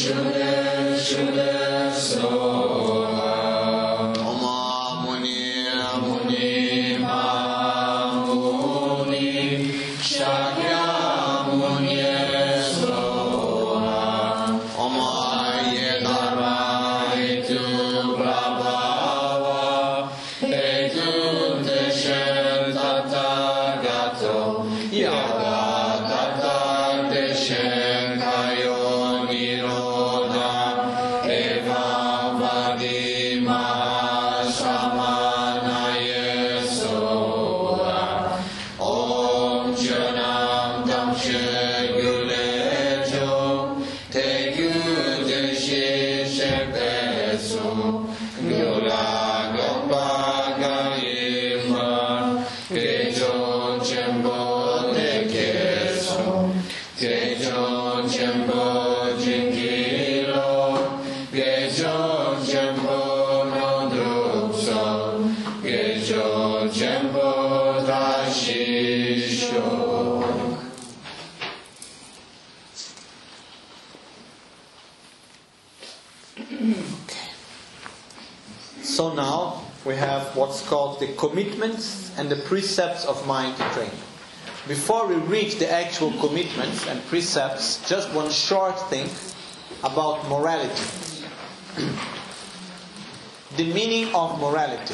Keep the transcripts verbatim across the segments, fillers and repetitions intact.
So now we have what's called the commitments and the precepts of mind training. Before we reach the actual commitments and precepts, just one short thing about morality. The meaning of morality.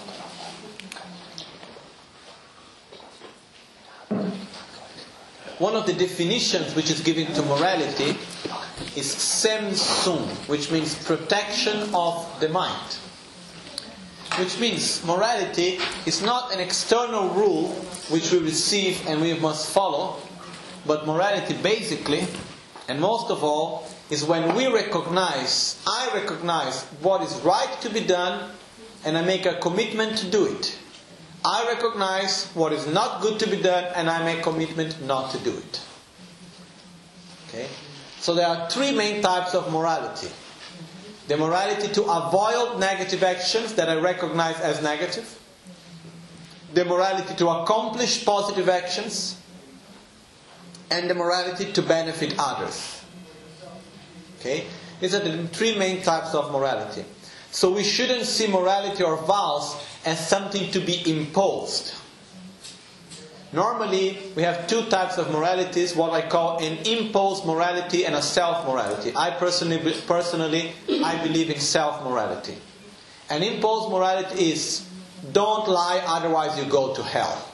One of the definitions which is given to morality is Semsun, which means protection of the mind. Which means morality is not an external rule which we receive and we must follow, but morality basically, and most of all, is when we recognize, I recognize what is right to be done and I make a commitment to do it. I recognize what is not good to be done and I make a commitment not to do it. Okay? So there are three main types of morality. The morality to avoid negative actions that I recognize as negative. The morality to accomplish positive actions. And the morality to benefit others. Okay? These are the three main types of morality. So we shouldn't see morality or vows as something to be imposed. Normally, we have two types of moralities, what I call an imposed morality and a self-morality. I personally, personally, I believe in self-morality. An imposed morality is, don't lie, otherwise you go to hell.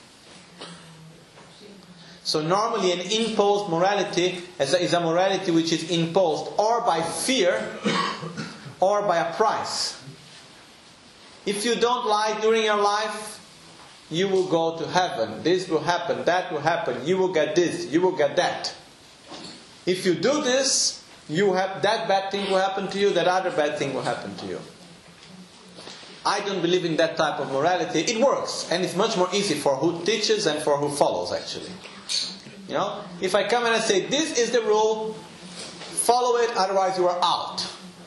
So normally an imposed morality is a, is a morality which is imposed or by fear or by a price. If you don't lie during your life, you will go to heaven. This will happen, that will happen. You will get this, you will get that. If you do this, you have that bad thing will happen to you, that other bad thing will happen to you. I don't believe in that type of morality. It works, and it's much more easy for who teaches and for who follows, actually. You know, if I come and I say, this is the rule, follow it, otherwise you are out.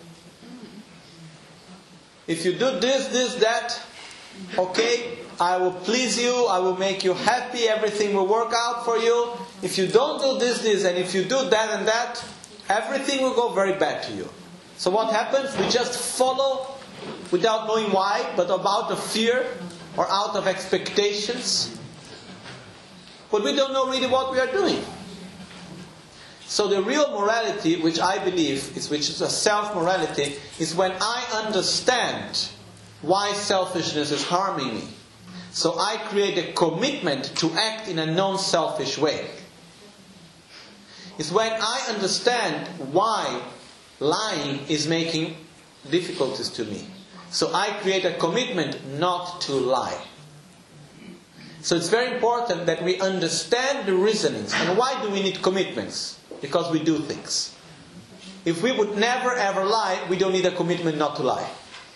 If you do this, this, that, okay, I will please you, I will make you happy, everything will work out for you. If you don't do this, this, and if you do that and that, everything will go very bad to you. So what happens? We just follow without knowing why, but out of fear or out of expectations. But we don't know really what we are doing. So the real morality, which I believe is which is a self-morality, is when I understand why selfishness is harming me. So I create a commitment to act in a non-selfish way. It's when I understand why lying is making difficulties to me. So I create a commitment not to lie. So it's very important that we understand the reasonings. And why do we need commitments? Because we do things. If we would never ever lie, we don't need a commitment not to lie.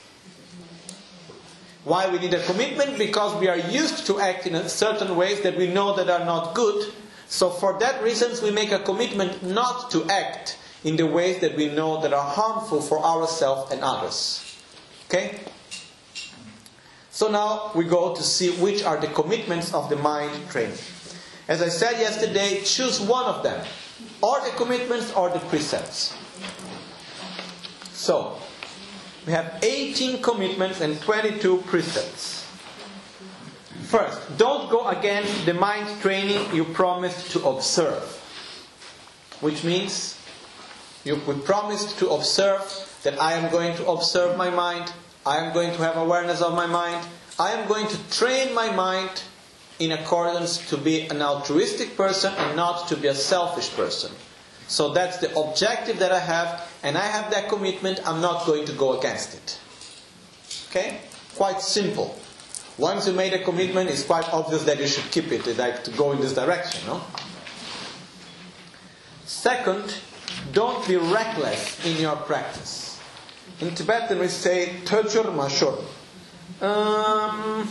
Why we need a commitment? Because we are used to act in certain ways that we know that are not good. So for that reason, we make a commitment not to act in the ways that we know that are harmful for ourselves and others. Okay? So now we go to see which are the commitments of the mind training. As I said yesterday, choose one of them. Or the commitments or the precepts. So, we have eighteen commitments and twenty-two precepts. First, don't go against the mind training you promised to observe. Which means, you we promised to observe that I am going to observe my mind, I am going to have awareness of my mind, I am going to train my mind in accordance to be an altruistic person and not to be a selfish person. So that's the objective that I have, and I have that commitment, I'm not going to go against it. Okay? Quite simple. Once you made a commitment, it's quite obvious that you should keep it, like to go in this direction, no? Second, don't be reckless in your practice. In Tibetan we say, Tujur Mashur. Um,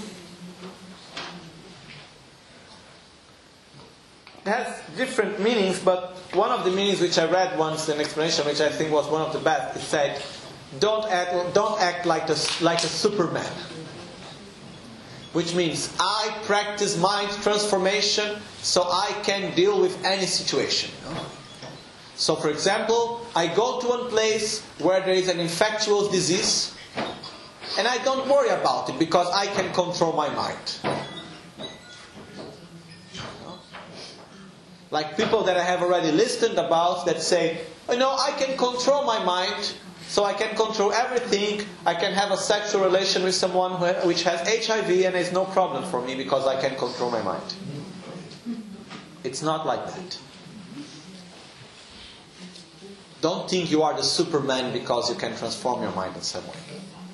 it has different meanings, but one of the meanings which I read once, an explanation which I think was one of the best, it said, don't act, don't act like, the, like a Superman. Which means, I practice mind transformation so I can deal with any situation. So for example, I go to one place where there is an infectious disease, and I don't worry about it because I can control my mind. Like people that I have already listened about that say, you know, I can control my mind, so I can control everything. I can have a sexual relation with someone who, which has H I V and it's no problem for me because I can control my mind. It's not like that. Don't think you are the Superman because you can transform your mind in some way.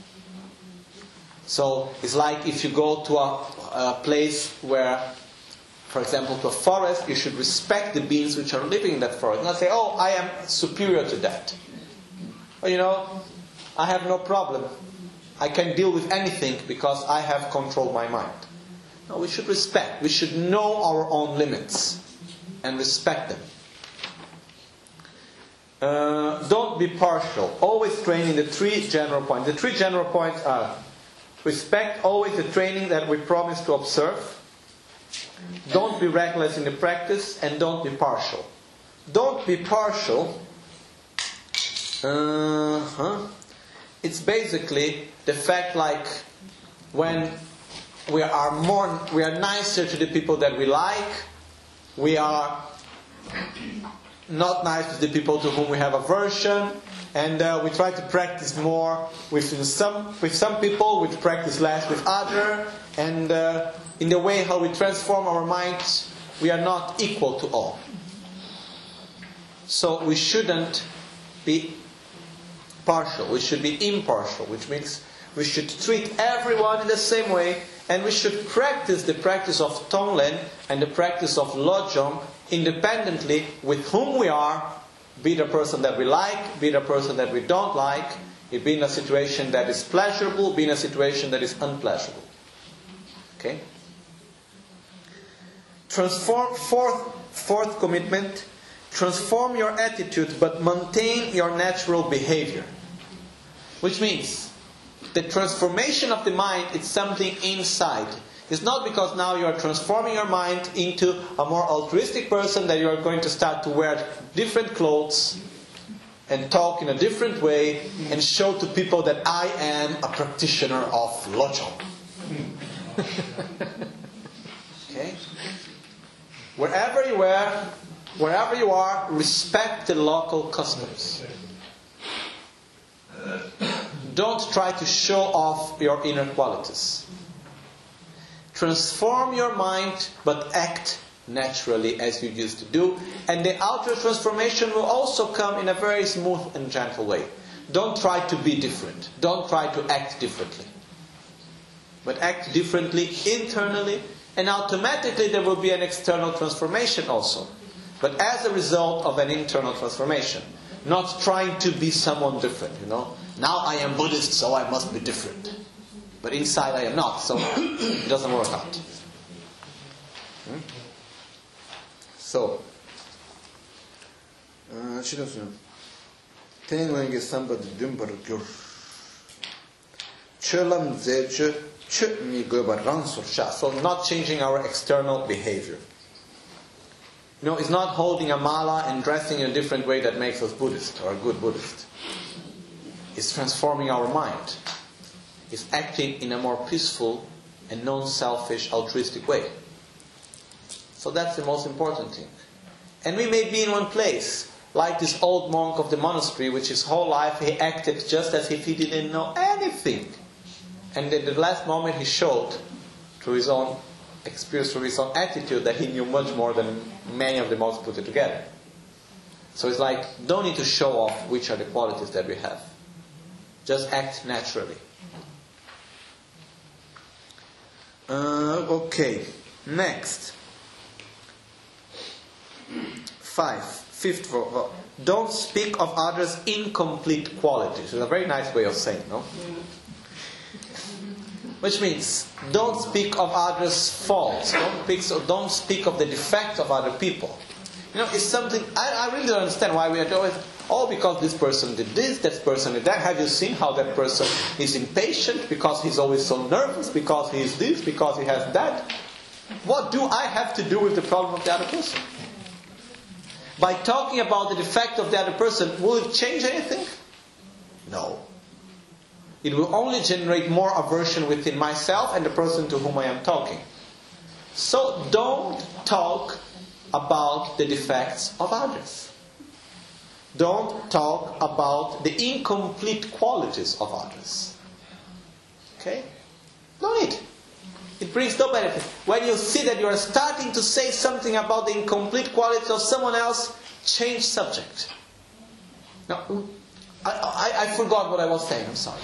So it's like if you go to a, a place where, for example, to a forest, you should respect the beings which are living in that forest. Not say, oh, I am superior to that. Or, you know, I have no problem. I can deal with anything because I have controlled my mind. No, we should respect. We should know our own limits and respect them. Uh, don't be partial. Always train in the three general points. The three general points are respect always the training that we promise to observe. Don't be reckless in the practice, and don't be partial. Don't be partial. Uh-huh. It's basically the fact like when we are more, we are nicer to the people that we like, we are not nice to the people to whom we have aversion, and uh, we try to practice more with some with some people, we practice less with others, and uh, in the way how we transform our minds, we are not equal to all. So we shouldn't be partial, we should be impartial, which means we should treat everyone in the same way, and we should practice the practice of Tonglen and the practice of Lojong independently with whom we are, be it a person that we like, be it a person that we don't like, it be in a situation that is pleasurable, be in a situation that is unpleasurable. Okay? Transform, fourth, fourth commitment, transform your attitude but maintain your natural behavior. Which means, the transformation of the mind is something inside. It's not because now you are transforming your mind into a more altruistic person that you are going to start to wear different clothes and talk in a different way and show to people that I am a practitioner of Lojong. Okay? Wherever you are, wherever you are, respect the local customs. Don't try to show off your inner qualities. Transform your mind, but act naturally as you used to do. And the outer transformation will also come in a very smooth and gentle way. Don't try to be different. Don't try to act differently. But act differently internally, and automatically there will be an external transformation also. But as a result of an internal transformation. Not trying to be someone different, you know. Now I am Buddhist, so I must be different. But inside I am not, so it doesn't work out. Hmm? So, so not changing our external behavior. You know, it's not holding a mala and dressing in a different way that makes us Buddhist or a good Buddhist. It's transforming our mind. It's acting in a more peaceful and non-selfish, altruistic way. So that's the most important thing. And we may be in one place, like this old monk of the monastery, which his whole life he acted just as if he didn't know anything. And at the last moment he showed, through his own experience, through his own attitude, that he knew much more than many of the monks put it together. So it's like, don't need to show off which are the qualities that we have. Just act naturally. Uh, okay, next. Five. Fifth, don't speak of others' incomplete qualities. It's a very nice way of saying, no? Which means, don't speak of others' faults. Don't speak, don't speak of the defects of other people. You know, it's something, I, I really don't understand why we are always, oh, because this person did this, that person did that. Have you seen how that person is impatient because he's always so nervous, because he is this, because he has that? What do I have to do with the problem of the other person? By talking about the defect of the other person, will it change anything? No. It will only generate more aversion within myself and the person to whom I am talking. So don't talk about the defects of others. Don't talk about the incomplete qualities of others. Okay? No need. It brings no benefit. When you see that you are starting to say something about the incomplete qualities of someone else, change subject. Now, I, I, I forgot what I was saying. I'm sorry.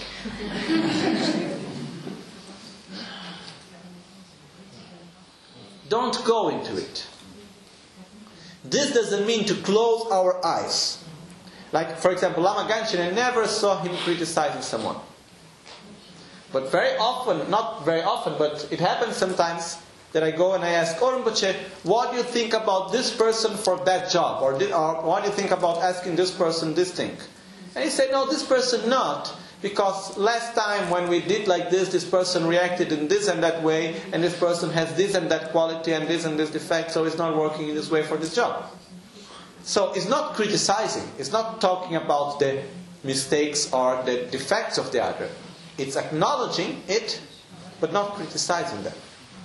Don't go into it. This doesn't mean to close our eyes. Like, for example, Lama Ganchen, I never saw him criticizing someone. But very often, not very often, but it happens sometimes that I go and I ask, oh Rinpoche, what do you think about this person for that job? Or, did, or what do you think about asking this person this thing? And he said, no, this person not. Because last time when we did like this, this person reacted in this and that way, and this person has this and that quality and this and this defect, so it's not working in this way for this job. So it's not criticizing. It's not talking about the mistakes or the defects of the other. It's acknowledging it, but not criticizing them.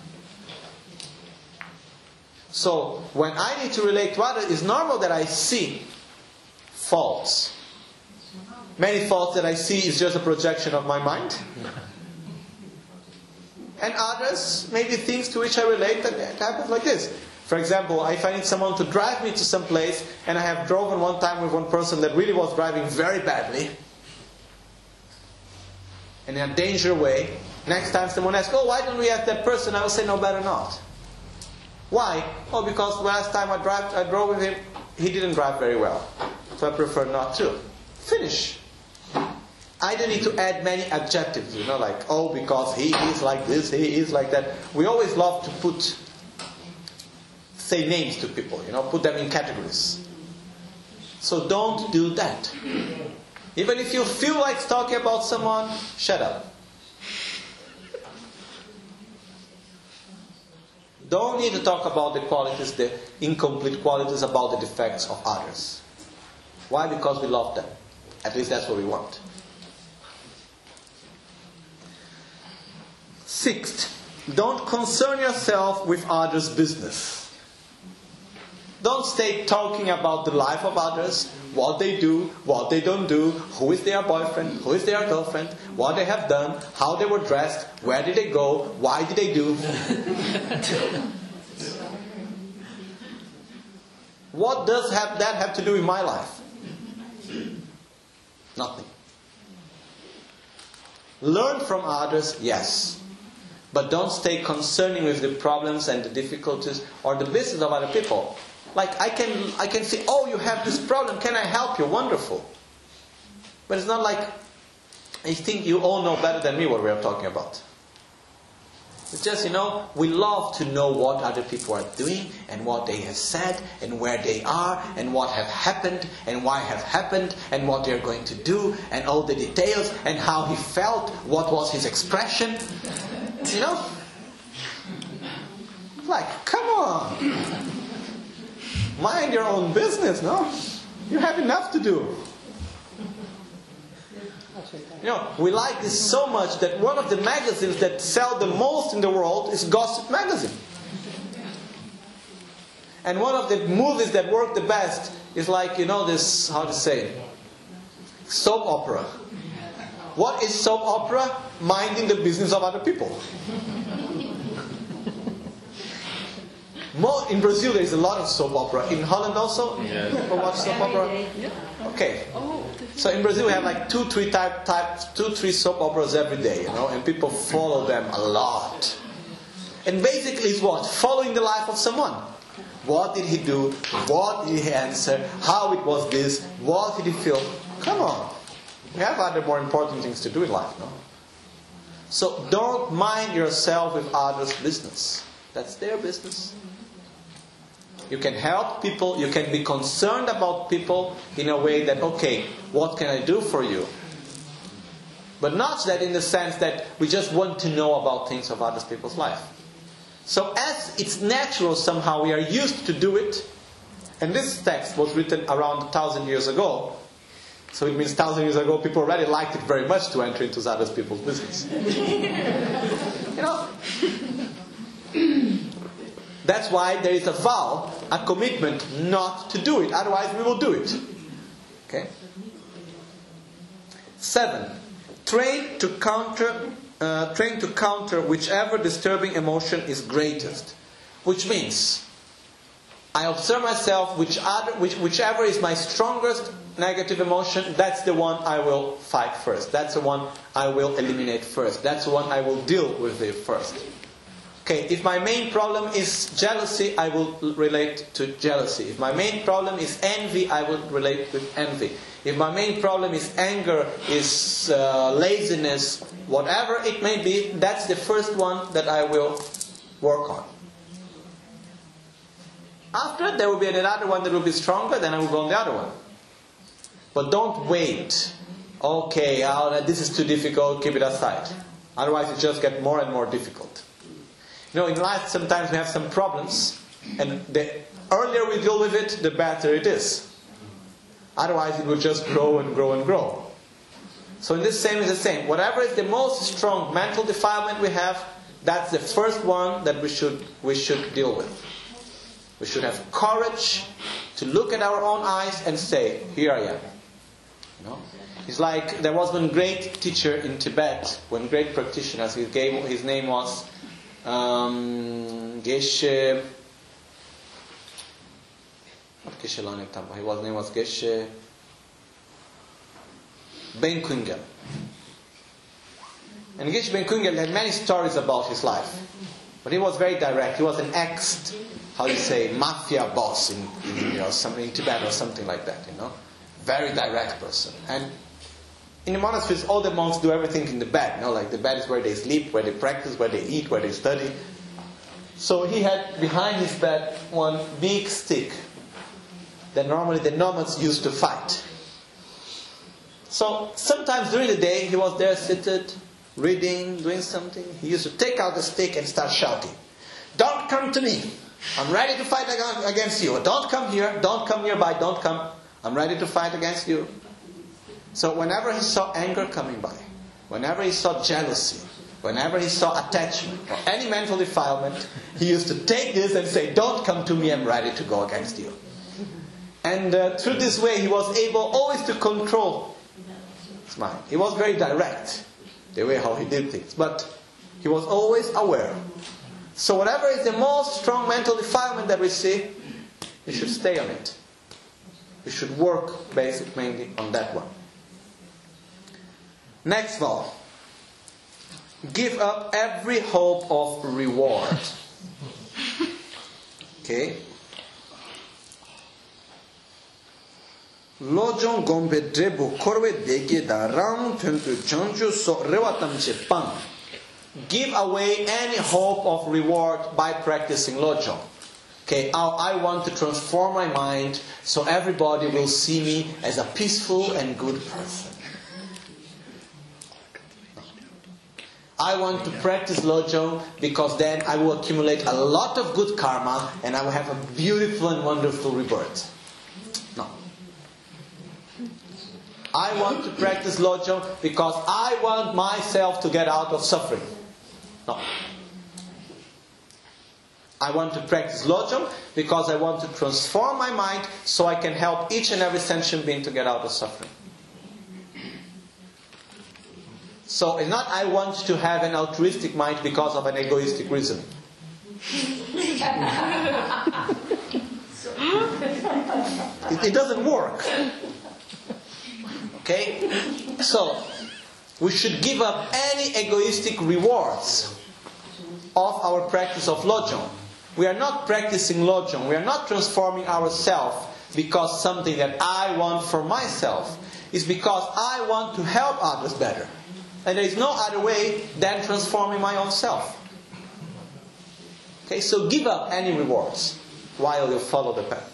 So when I need to relate to others, it's normal that I see faults. Many faults that I see is just a projection of my mind. And others, maybe things to which I relate that happens like this. For example, if I need someone to drive me to some place, and I have driven one time with one person that really was driving very badly, and in a dangerous way, next time someone asks, oh, why don't we ask that person? I will say, no, better not. Why? Oh, because last time I, drive, I drove with him, he didn't drive very well. So I prefer not to. Finish. I don't need to add many adjectives, you know, like, oh, because he is like this, he is like that. We always love to put, say names to people, you know, put them in categories. So don't do that. Even if you feel like talking about someone, shut up. Don't need to talk about the qualities, the incomplete qualities, about the defects of others. Why? Because we love them. At least that's what we want. Sixth, don't concern yourself with others' business. Don't stay talking about the life of others, what they do, what they don't do, who is their boyfriend, who is their girlfriend, what they have done, how they were dressed, where did they go, why did they do. What does have that have to do with my life? Nothing. Learn from others, yes. But don't stay concerning with the problems and the difficulties or the business of other people. Like I can I can say, oh, you have this problem, can I help you? Wonderful. But it's not like, I think you all know better than me what we are talking about. It's just, you know, we love to know what other people are doing and what they have said and where they are and what have happened and why have happened and what they are going to do and all the details and how he felt, what was his expression. You know? Like, come on. Mind your own business, no? You have enough to do. You know, we like this so much that one of the magazines that sell the most in the world is Gossip Magazine. And one of the movies that work the best is like, you know, this, how to say, soap opera. What is soap opera? Minding the business of other people. More, in Brazil there is a lot of soap opera. In Holland also? Yes. People watch soap opera? Okay. So in Brazil we have like two, three type, type, two, three soap operas every day, you know, and people follow them a lot. And basically it's what? Following the life of someone. What did he do? What did he answer? How it was this? What did he feel? Come on. We have other more important things to do in life, no? So don't mind yourself with others' business. That's their business. You can help people, you can be concerned about people in a way that, okay, what can I do for you? But not that in the sense that we just want to know about things of other people's life. So as it's natural somehow, we are used to do it, and this text was written around a thousand years ago, so it means thousand years ago people already liked it very much to enter into other people's business. You know? That's why there is a vow, a commitment not to do it. Otherwise we will do it. Okay? Seven. Train to counter, uh, train to counter whichever disturbing emotion is greatest. Which means, I observe myself, which other, which, whichever is my strongest negative emotion, that's the one I will fight first. That's the one I will eliminate first. That's the one I will deal with it first. Okay, if my main problem is jealousy, I will relate to jealousy. If my main problem is envy, I will relate with envy. If my main problem is anger, is uh, laziness, whatever it may be, that's the first one that I will work on. After, there will be another one that will be stronger, then I will go on the other one. But don't wait. Okay, oh, this is too difficult, keep it aside. Otherwise it just gets more and more difficult. You know, in life sometimes we have some problems, and the earlier we deal with it, the better it is. Otherwise it will just grow and grow and grow. So in this same is the same. Whatever is the most strong mental defilement we have, that's the first one that we should we should deal with. We should have courage to look at our own eyes and say, here I am. You know? It's like there was one great teacher in Tibet, one great practitioner. His, game, his name was um, Geshe. Not Geshe Lanek Tamba. His name was Geshe Ben Kungel. And Geshe Ben Kungel had many stories about his life, but he was very direct. He was an ex, how do you say, mafia boss in, in you know something in Tibet or something like that. You know, very direct person. And in the monasteries, all the monks do everything in the bed. You know, like the bed is where they sleep, where they practice, where they eat, where they study. So he had behind his bed one big stick that normally the nomads used to fight. So sometimes during the day he was there seated, reading, doing something. He used to take out the stick and start shouting, "Don't come to me! I'm ready to fight against you. Don't come here, don't come nearby, don't come. I'm ready to fight against you." So whenever he saw anger coming by, whenever he saw jealousy, whenever he saw attachment or any mental defilement, he used to take this and say, "Don't come to me, I'm ready to go against you." And uh, through this way he was able always to control his mind. He was very direct, the way how he did things, but he was always aware. So whatever is the most strong mental defilement that we see, we should stay on it. We should work basic mainly on that one. Next vow. Give up every hope of reward. Okay. Lojong gombe drebu korwe dege da ram pempu chanju so rewatam pang. Give away any hope of reward by practicing lojong. Okay, I want to transform my mind so everybody will see me as a peaceful and good person. I want to practice Lojong because then I will accumulate a lot of good karma and I will have a beautiful and wonderful rebirth. No. I want to practice Lojong because I want myself to get out of suffering. No. I want to practice Lojong because I want to transform my mind so I can help each and every sentient being to get out of suffering. So it's not I want to have an altruistic mind because of an egoistic reason. it, it doesn't work. Okay? So, we should give up any egoistic rewards of our practice of Lojong. We are not practicing Lojong. We are not transforming ourselves because something that I want for myself. It's because I want to help others better. And there is no other way than transforming my own self. Okay, so give up any rewards while you follow the path.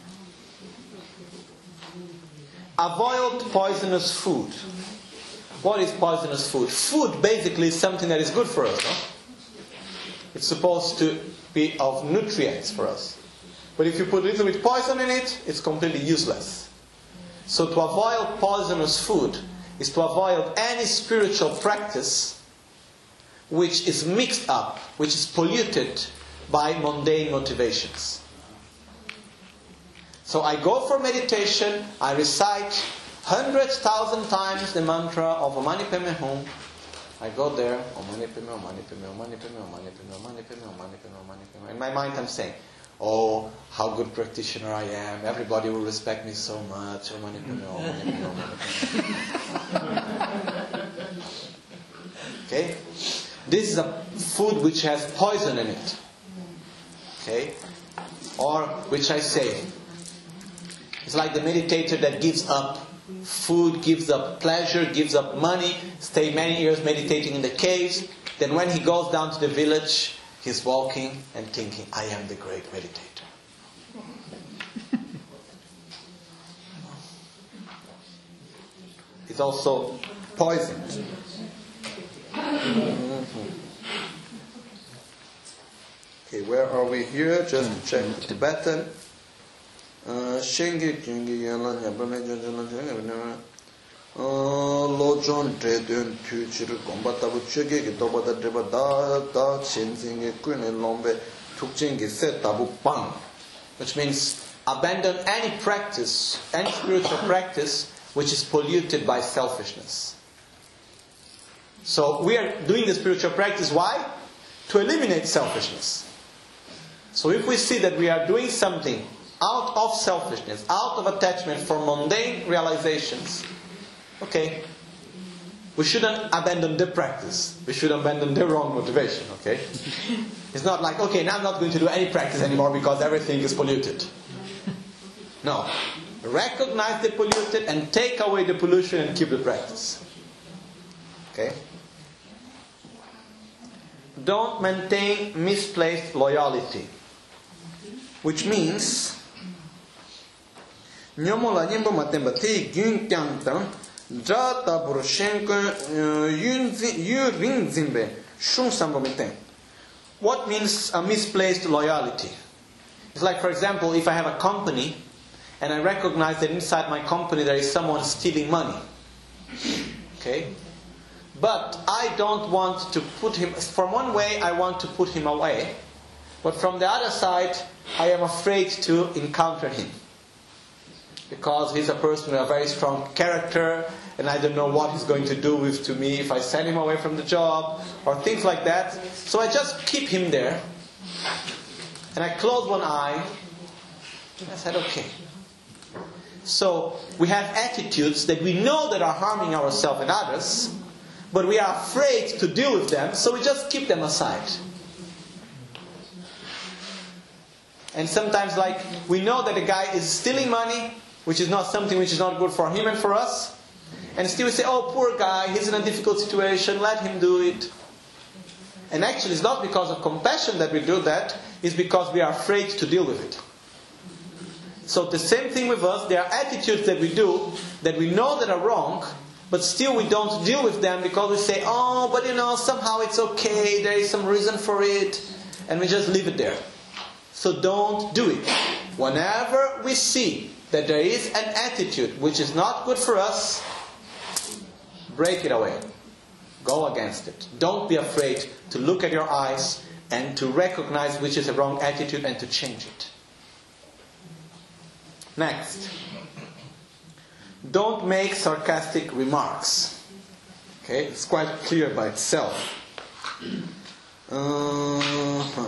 Avoid poisonous food. What is poisonous food? Food basically is something that is good for us. No? It's supposed to be of nutrients for us. But if you put a little bit poison in it, it's completely useless. So to avoid poisonous food is to avoid any spiritual practice which is mixed up, which is polluted by mundane motivations. So I go for meditation, I recite hundred thousand times the mantra of Om Mani Padme Hum. I go there, Om Mani Padme, Om Mani Padme, Om Mani Padme, Om Mani Padme, Om Mani Padme, Om Mani Padme, Om Mani Padme. In my mind I'm saying, oh, how good practitioner I am. Everybody will respect me so much. Om Mani Padme, Om Mani Padme, Om Mani Padme. Okay? This is a food which has poison in it. Okay? Or, which I say, it's like the meditator that gives up food, gives up pleasure, gives up money, stay many years meditating in the caves. Then when he goes down to the village, he's walking and thinking, I am the great meditator. It's also poisoned. Mm-hmm. Okay, where are we here? Just check Tibetan. Shengi Jingi Yalan Yabame Jalan Lojong Tredun Tuchir Combatabu Chuggi Tobata Dreba Da Da Chinzingi Queen Lombe Tukchingi Set Tabu Pang, which means abandon any practice, any spiritual practice which is polluted by selfishness. So we are doing the spiritual practice, why? To eliminate selfishness. So if we see that we are doing something out of selfishness, out of attachment for mundane realizations, okay, we shouldn't abandon the practice. We should abandon the wrong motivation, okay? It's not like, okay, now I'm not going to do any practice anymore because everything is polluted. No. Recognize the polluted and take away the pollution and keep the practice. Okay? Don't maintain misplaced loyalty. Which means Nyomola Nyimba Matemba Te Gyun Kyang Tang Jata Buroshenko Yu Ring Zimbe Shung Samba Meten. What means a misplaced loyalty? It's like, for example, if I have a company and I recognize that inside my company there is someone stealing money. Okay? But I don't want to put him, from one way I want to put him away, but from the other side I am afraid to encounter him. Because he's a person with a very strong character and I don't know what he's going to do with to me if I send him away from the job or things like that. So I just keep him there and I close one eye and I said, okay. So we have attitudes that we know that are harming ourselves and others, but we are afraid to deal with them, so we just keep them aside. And sometimes, like, we know that a guy is stealing money, which is not something which is not good for him and for us, and still we say, oh, poor guy, he's in a difficult situation, let him do it. And actually it's not because of compassion that we do that, it's because we are afraid to deal with it. So the same thing with us, there are attitudes that we do that we know that are wrong, but still we don't deal with them because we say, oh, but you know, somehow it's okay, there is some reason for it, and we just leave it there. So don't do it. Whenever we see that there is an attitude which is not good for us, break it away. Go against it. Don't be afraid to look at your eyes and to recognize which is a wrong attitude and to change it. Next. Don't make sarcastic remarks. Okay, it's quite clear by itself. Uh-huh.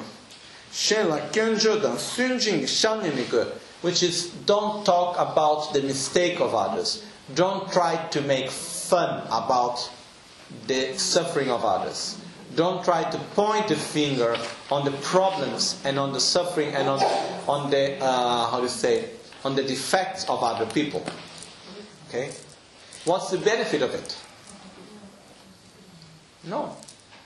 Which is, don't talk about the mistake of others. Don't try to make fun about the suffering of others. Don't try to point the finger on the problems and on the suffering and on on the uh, how do you say on the defects of other people. Okay, what's the benefit of it? No.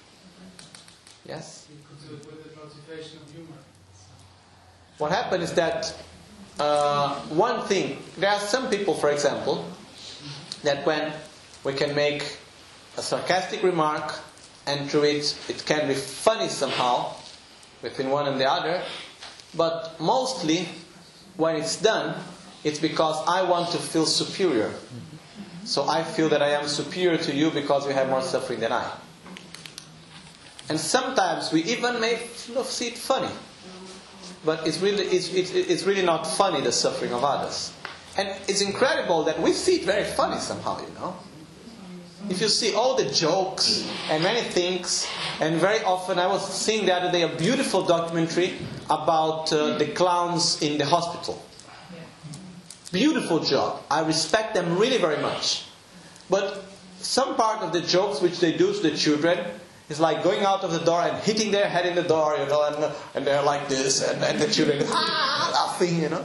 Yes. With the motivation of humor. What happened is that uh, one thing. There are some people, for example, that when we can make a sarcastic remark, and through it, it can be funny somehow, between one and the other, but mostly, when it's done, it's because I want to feel superior. So I feel that I am superior to you because you have more suffering than I. And sometimes we even may see it funny. But it's really, it's, it's, it's really not funny, the suffering of others. And it's incredible that we see it very funny somehow, you know. If you see all the jokes and many things, and very often I was seeing the other day a beautiful documentary about uh, the clowns in the hospital. Beautiful job. I respect them really very much. But some part of the jokes which they do to the children is like going out of the door and hitting their head in the door, you know, and, and they're like this, and, and the children ah, laughing, you know.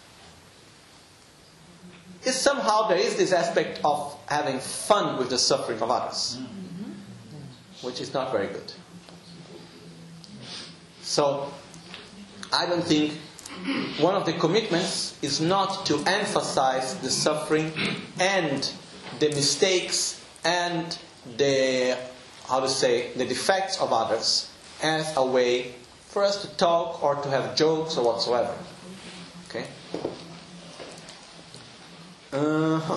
Is somehow there is this aspect of having fun with the suffering of others, which is not very good. So, I don't think one of the commitments is not to emphasize the suffering and the mistakes and the, how to say, the defects of others as a way for us to talk or to have jokes or whatsoever. Okay? Uh-huh.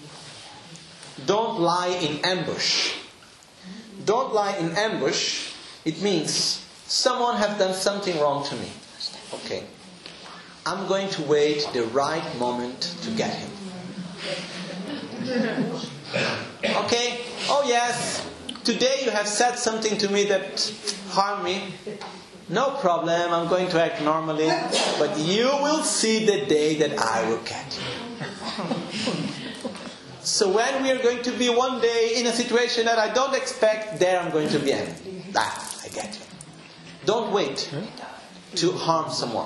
Don't lie in ambush. Don't lie in ambush. It means someone has done something wrong to me. Okay. I'm going to wait the right moment to get him. Okay? Oh yes, today you have said something to me that harmed me. No problem, I'm going to act normally. But you will see the day that I will get you. So when we are going to be one day in a situation that I don't expect, there I'm going to be angry. Ah, I get you. Don't wait to harm someone.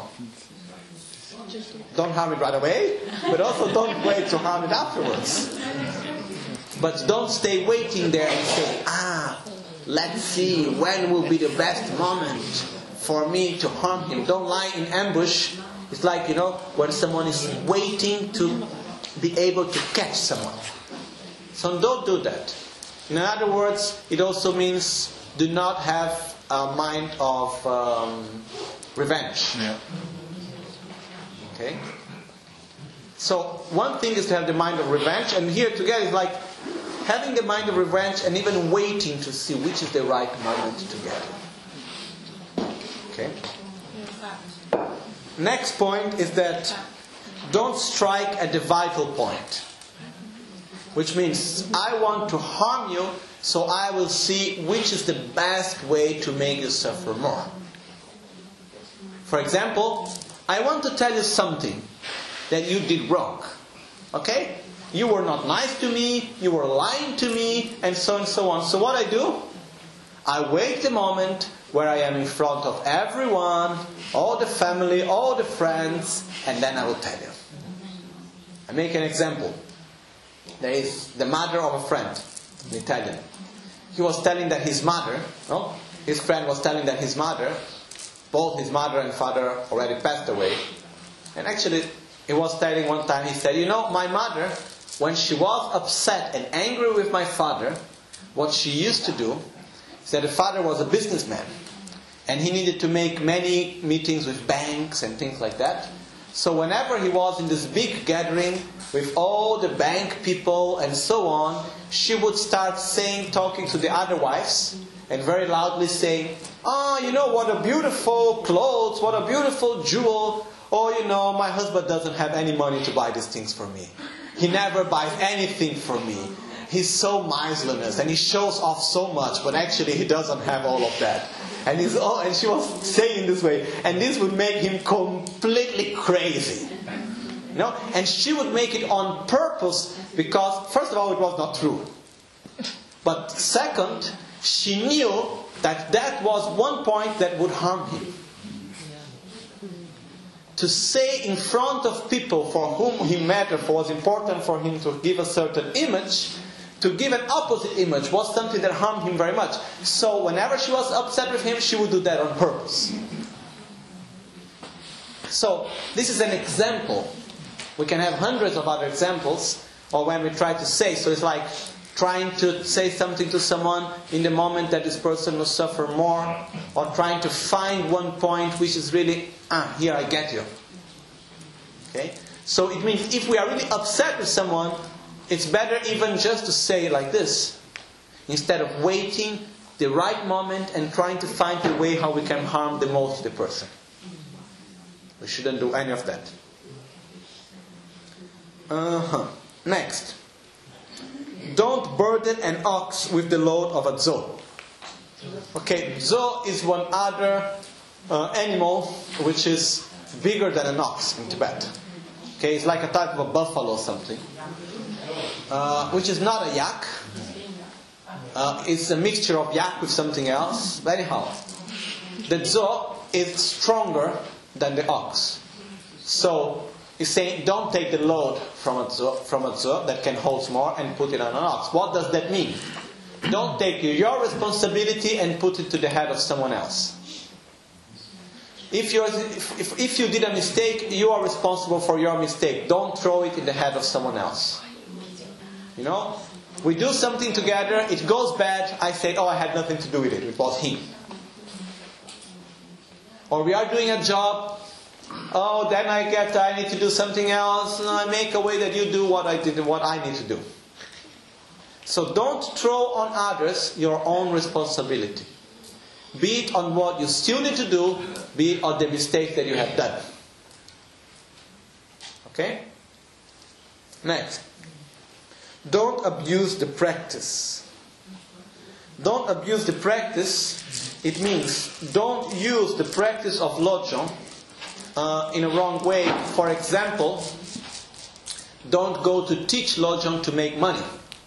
Don't harm it right away, but also don't wait to harm it afterwards. But don't stay waiting there and say, ah, let's see when will be the best moment for me to harm him. Don't lie in ambush. It's like, you know, when someone is waiting to be able to catch someone. So don't do that. In other words, it also means do not have a mind of um, revenge. Yeah. Okay? So one thing is to have the mind of revenge, and here together is like having the mind of revenge and even waiting to see which is the right moment to get it. Okay? Next point is that don't strike at the vital point. Which means I want to harm you, so I will see which is the best way to make you suffer more. For example, I want to tell you something that you did wrong. Okay? You were not nice to me, you were lying to me, and so and so on. So what I do? I wait the moment where I am in front of everyone, all the family, all the friends, and then I will tell you. I make an example. There is the mother of a friend, in Italian. He was telling that his mother, no? His friend was telling that his mother, both his mother and father already passed away. And actually, he was telling one time, he said, you know, my mother when she was upset and angry with my father, what she used to do is that the father was a businessman. And he needed to make many meetings with banks and things like that. So whenever he was in this big gathering with all the bank people and so on, she would start saying, talking to the other wives, and very loudly saying, "Oh, you know, what a beautiful clothes, what a beautiful jewel. Oh, you know, my husband doesn't have any money to buy these things for me. He never buys anything for me. He's so miserliness and he shows off so much, but actually he doesn't have all of that." And he's oh, and she was saying this way, and this would make him completely crazy. You know? And she would make it on purpose because, first of all, it was not true. But second, she knew that that was one point that would harm him. To say in front of people for whom he mattered, for was important for him to give a certain image, to give an opposite image was something that harmed him very much. So whenever she was upset with him, she would do that on purpose. So this is an example. We can have hundreds of other examples, or when we try to say. So it's like trying to say something to someone in the moment that this person will suffer more, or trying to find one point which is really, ah, here I get you. Okay? So it means if we are really upset with someone, it's better even just to say it like this, instead of waiting the right moment and trying to find the way how we can harm the most the person. We shouldn't do any of that. Uh-huh. Next. Don't burden an ox with the load of a zo. Okay, zo is one other uh, animal which is bigger than an ox in Tibet. Okay, it's like a type of a buffalo or something. Uh, which is not a yak. Uh, it's a mixture of yak with something else. But anyhow, the zo is stronger than the ox. So he's saying, don't take the load from a zo, from a zo that can hold more and put it on an ox. What does that mean? Don't take your responsibility and put it to the head of someone else. If, you're, if, if, if you did a mistake, you are responsible for your mistake. Don't throw it in the head of someone else. You know, we do something together, it goes bad, I say, oh, I had nothing to do with it, it was him. Or we are doing a job, oh, then I get, I need to do something else, and I make a way that you do what I did and what I need to do. So don't throw on others your own responsibility. Be it on what you still need to do, be it on the mistake that you have done. Okay? Next. Don't abuse the practice. Don't abuse the practice. It means don't use the practice of Lojong uh, in a wrong way. For example, don't go to teach Lojong to make money.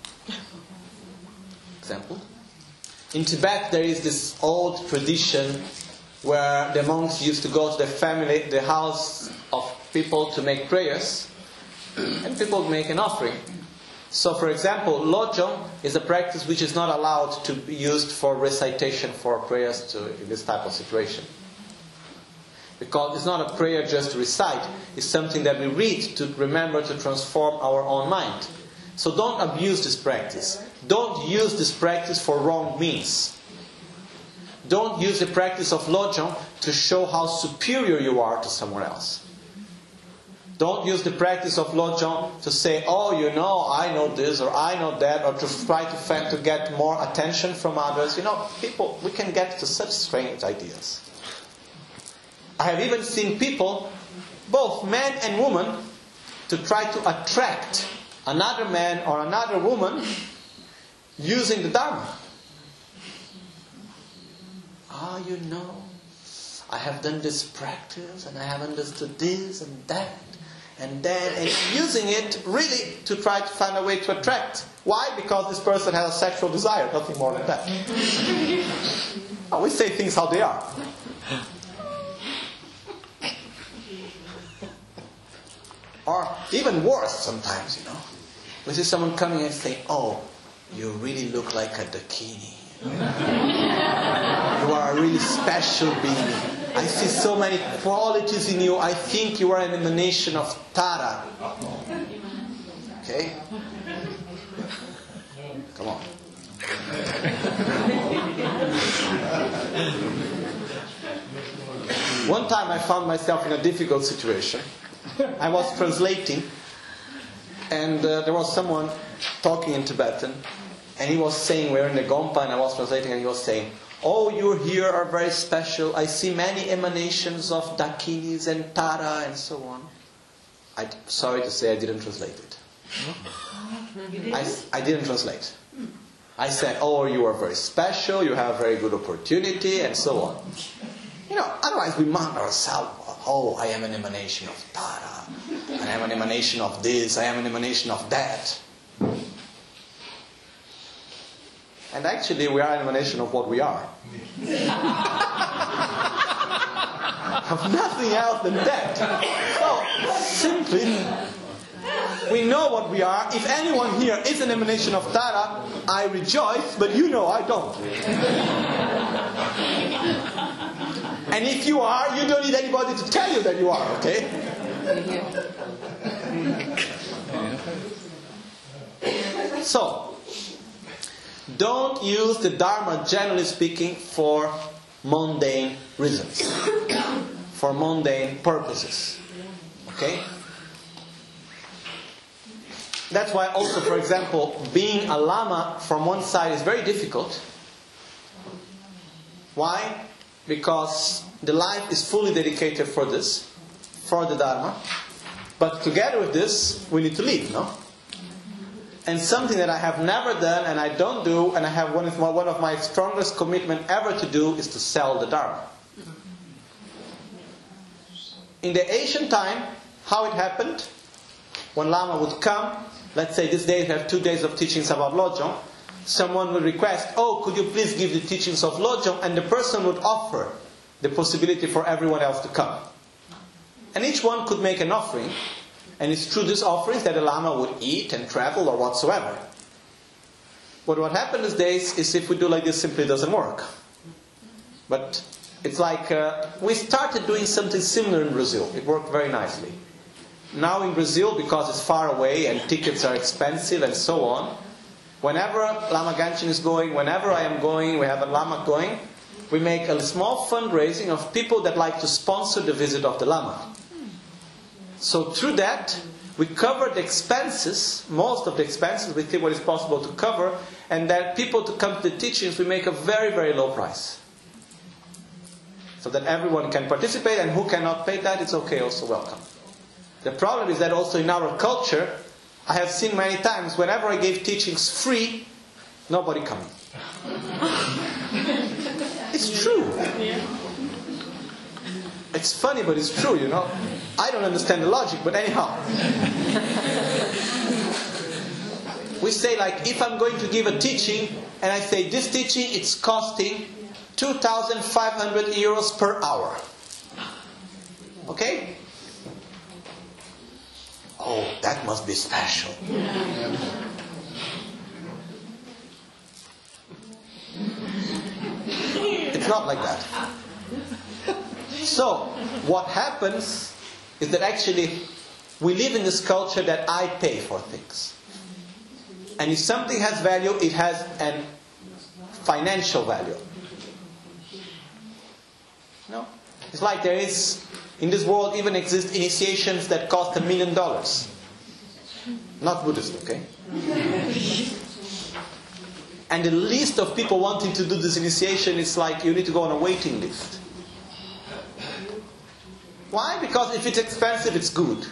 Example. In Tibet there is this old tradition where the monks used to go to the family, the house of people to make prayers, and people would make an offering. So, for example, Lojong is a practice which is not allowed to be used for recitation for prayers to, in this type of situation. Because it's not a prayer just to recite. It's something that we read to remember to transform our own mind. So don't abuse this practice. Don't use this practice for wrong means. Don't use the practice of Lojong to show how superior you are to someone else. Don't use the practice of Lojong to say, oh, you know, I know this or I know that, or to try to, to get more attention from others. You know, people, we can get to such strange ideas. I have even seen people, both men and women, to try to attract another man or another woman using the Dharma. Ah, you know, I have done this practice and I have understood this and that. And then and using it really to try to find a way to attract. Why? Because this person has a sexual desire, nothing more than that. Oh, we say things how they are. Or even worse sometimes, you know. We see someone coming and say, oh, you really look like a Dakini. You are a really special being. I see so many qualities in you. I think you are an emanation of Tara. Okay? Come on. One time I found myself in a difficult situation. I was translating, and uh, there was someone talking in Tibetan, and he was saying, we're in the Gompa, and I was translating, and he was saying, oh, you here are very special. I see many emanations of Dakinis and Tara and so on. I'm sorry to say I didn't translate it. I, I didn't translate. I said, oh, you are very special, you have a very good opportunity, and so on. You know, otherwise we mount ourselves. Oh, I am an emanation of Tara. I am an emanation of this. I am an emanation of that. And actually, we are an emanation of what we are. Of nothing else than that. So, simply, we know what we are. If anyone here is an emanation of Tara, I rejoice, but you know I don't. And if you are, you don't need anybody to tell you that you are, okay? So, don't use the Dharma, generally speaking, for mundane reasons. For mundane purposes. Okay? That's why also, for example, being a Lama from one side is very difficult. Why? Because the life is fully dedicated for this, for the Dharma. But together with this, we need to live, no? And something that I have never done and I don't do, and I have one of my, one of my strongest commitment ever to do, is to sell the Dharma. In the ancient time, how it happened, when Lama would come, let's say this day we have two days of teachings about Lojong, someone would request, oh, could you please give the teachings of Lojong? And the person would offer the possibility for everyone else to come. And each one could make an offering. And it's through these offerings that the Lama would eat and travel or whatsoever. But what happened these days is if we do like this, simply doesn't work. But it's like, uh, we started doing something similar in Brazil. It worked very nicely. Now in Brazil, because it's far away and tickets are expensive and so on, whenever Lama Ganchen is going, whenever I am going, we have a Lama going, we make a small fundraising of people that like to sponsor the visit of the Lama. So through that, we cover the expenses, most of the expenses, we think what is possible to cover, and that people to come to the teachings, we make a very, very low price. So that everyone can participate, and who cannot pay that, it's okay, also welcome. The problem is that also in our culture, I have seen many times, whenever I gave teachings free, nobody coming. It's true. It's funny, but it's true, you know. I don't understand the logic, but anyhow. We say like, if I'm going to give a teaching, and I say this teaching, it's costing two thousand five hundred euros per hour. Okay? Oh, that must be special. It's not like that. So, what happens is that actually we live in this culture that I pay for things. And if something has value, it has a financial value. No? It's like there is, in this world even exist initiations that cost a million dollars. Not Buddhist, okay? And the list of people wanting to do this initiation is like you need to go on a waiting list. Why? Because if it's expensive, it's good.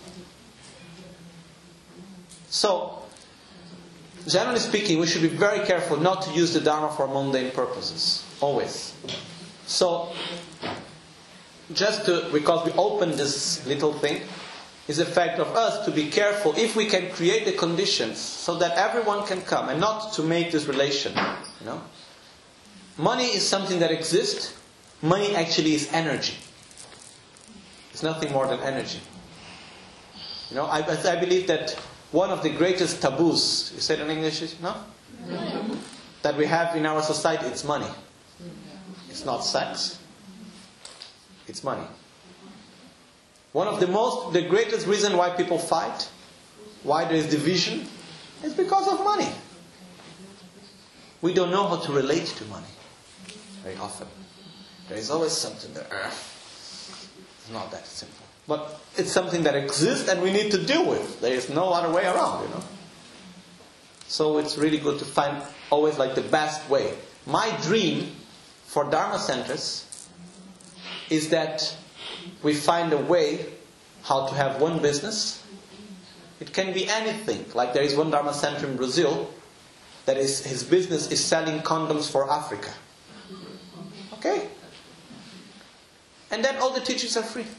So, generally speaking, we should be very careful not to use the Dharma for mundane purposes. Always. So, just to, because we opened this little thing, is the fact of us to be careful if we can create the conditions so that everyone can come and not to make this relation. You know? Money is something that exists. Money actually is energy. It's nothing more than energy. You know, I, I believe that one of the greatest taboos, you say it in English, no? No. That we have in our society, it's money. It's not sex. It's money. One of the most, the greatest reason why people fight why there is division? It's because of money. We don't know how to relate to money very often. There is always something there. It's not that simple. But it's something that exists and we need to deal with. There is no other way around, you know. So it's really good to find always like the best way. My dream for Dharma centers is that we find a way how to have one business. It can be anything. Like there is one Dharma center in Brazil that is, his business is selling condoms for Africa. Okay? And then all the teachings are free.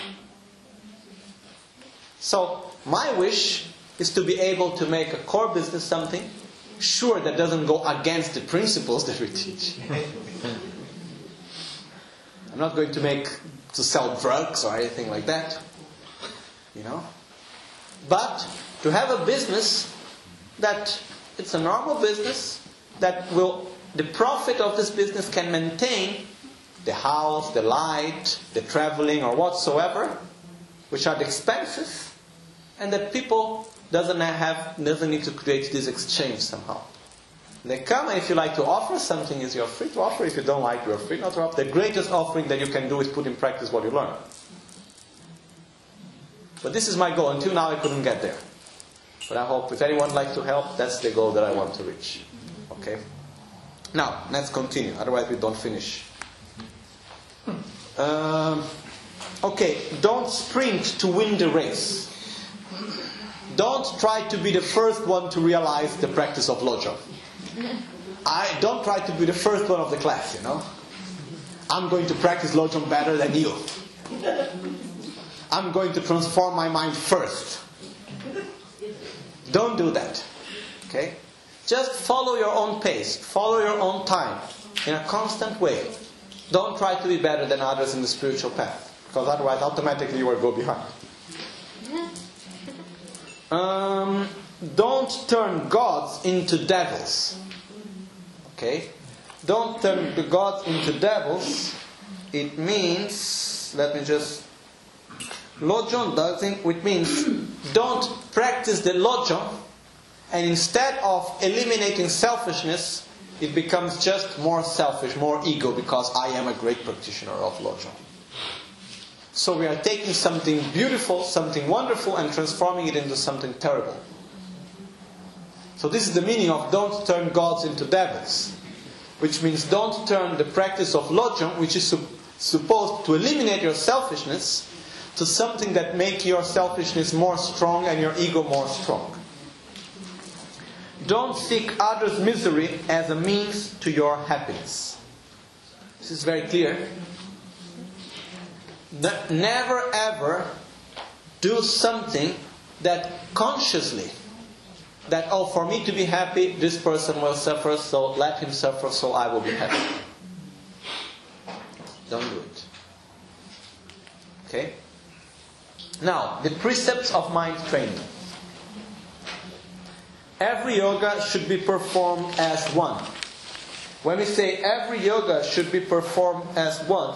So, my wish is to be able to make a core business something, sure, that doesn't go against the principles that we teach. I'm not going to make, to sell drugs or anything like that. You know? But, to have a business that, it's a normal business, that will, the profit of this business can maintain the house, the light, the traveling or whatsoever, which are the expenses, and that people doesn't have doesn't need to create this exchange somehow. They come, and if you like to offer something, is you're free to offer. If you don't like, you're free not to offer. The greatest offering that you can do is put in practice what you learn. But this is my goal. Until now, I couldn't get there. But I hope if anyone would like to help, that's the goal that I want to reach. Okay. Now let's continue. Otherwise, we don't finish. Um, okay, don't sprint to win the race. Don't try to be the first one to realize the practice of Lojong. I don't try to be the first one of the class, you know. I'm going to practice Lojong better than you. I'm going to transform my mind first. Don't do that. Okay? Just follow your own pace. Follow your own time. In a constant way. Don't try to be better than others in the spiritual path. Because otherwise, automatically you will go behind. Um, don't turn gods into devils. Okay? Don't turn the gods into devils. It means, let me just... Lojong doesn't, which means don't practice the Lojong, and instead of eliminating selfishness, it becomes just more selfish, more ego, because I am a great practitioner of Lojong. So we are taking something beautiful, something wonderful, and transforming it into something terrible. So this is the meaning of don't turn gods into devils. Which means don't turn the practice of Lojong, which is su- supposed to eliminate your selfishness, to something that makes your selfishness more strong and your ego more strong. Don't seek others' misery as a means to your happiness. This is very clear. Never ever do something that consciously, that, oh, for me to be happy, this person will suffer, so let him suffer, so I will be happy. Don't do it. Okay? Now, the precepts of mind training. Every yoga should be performed as one. When we say every yoga should be performed as one,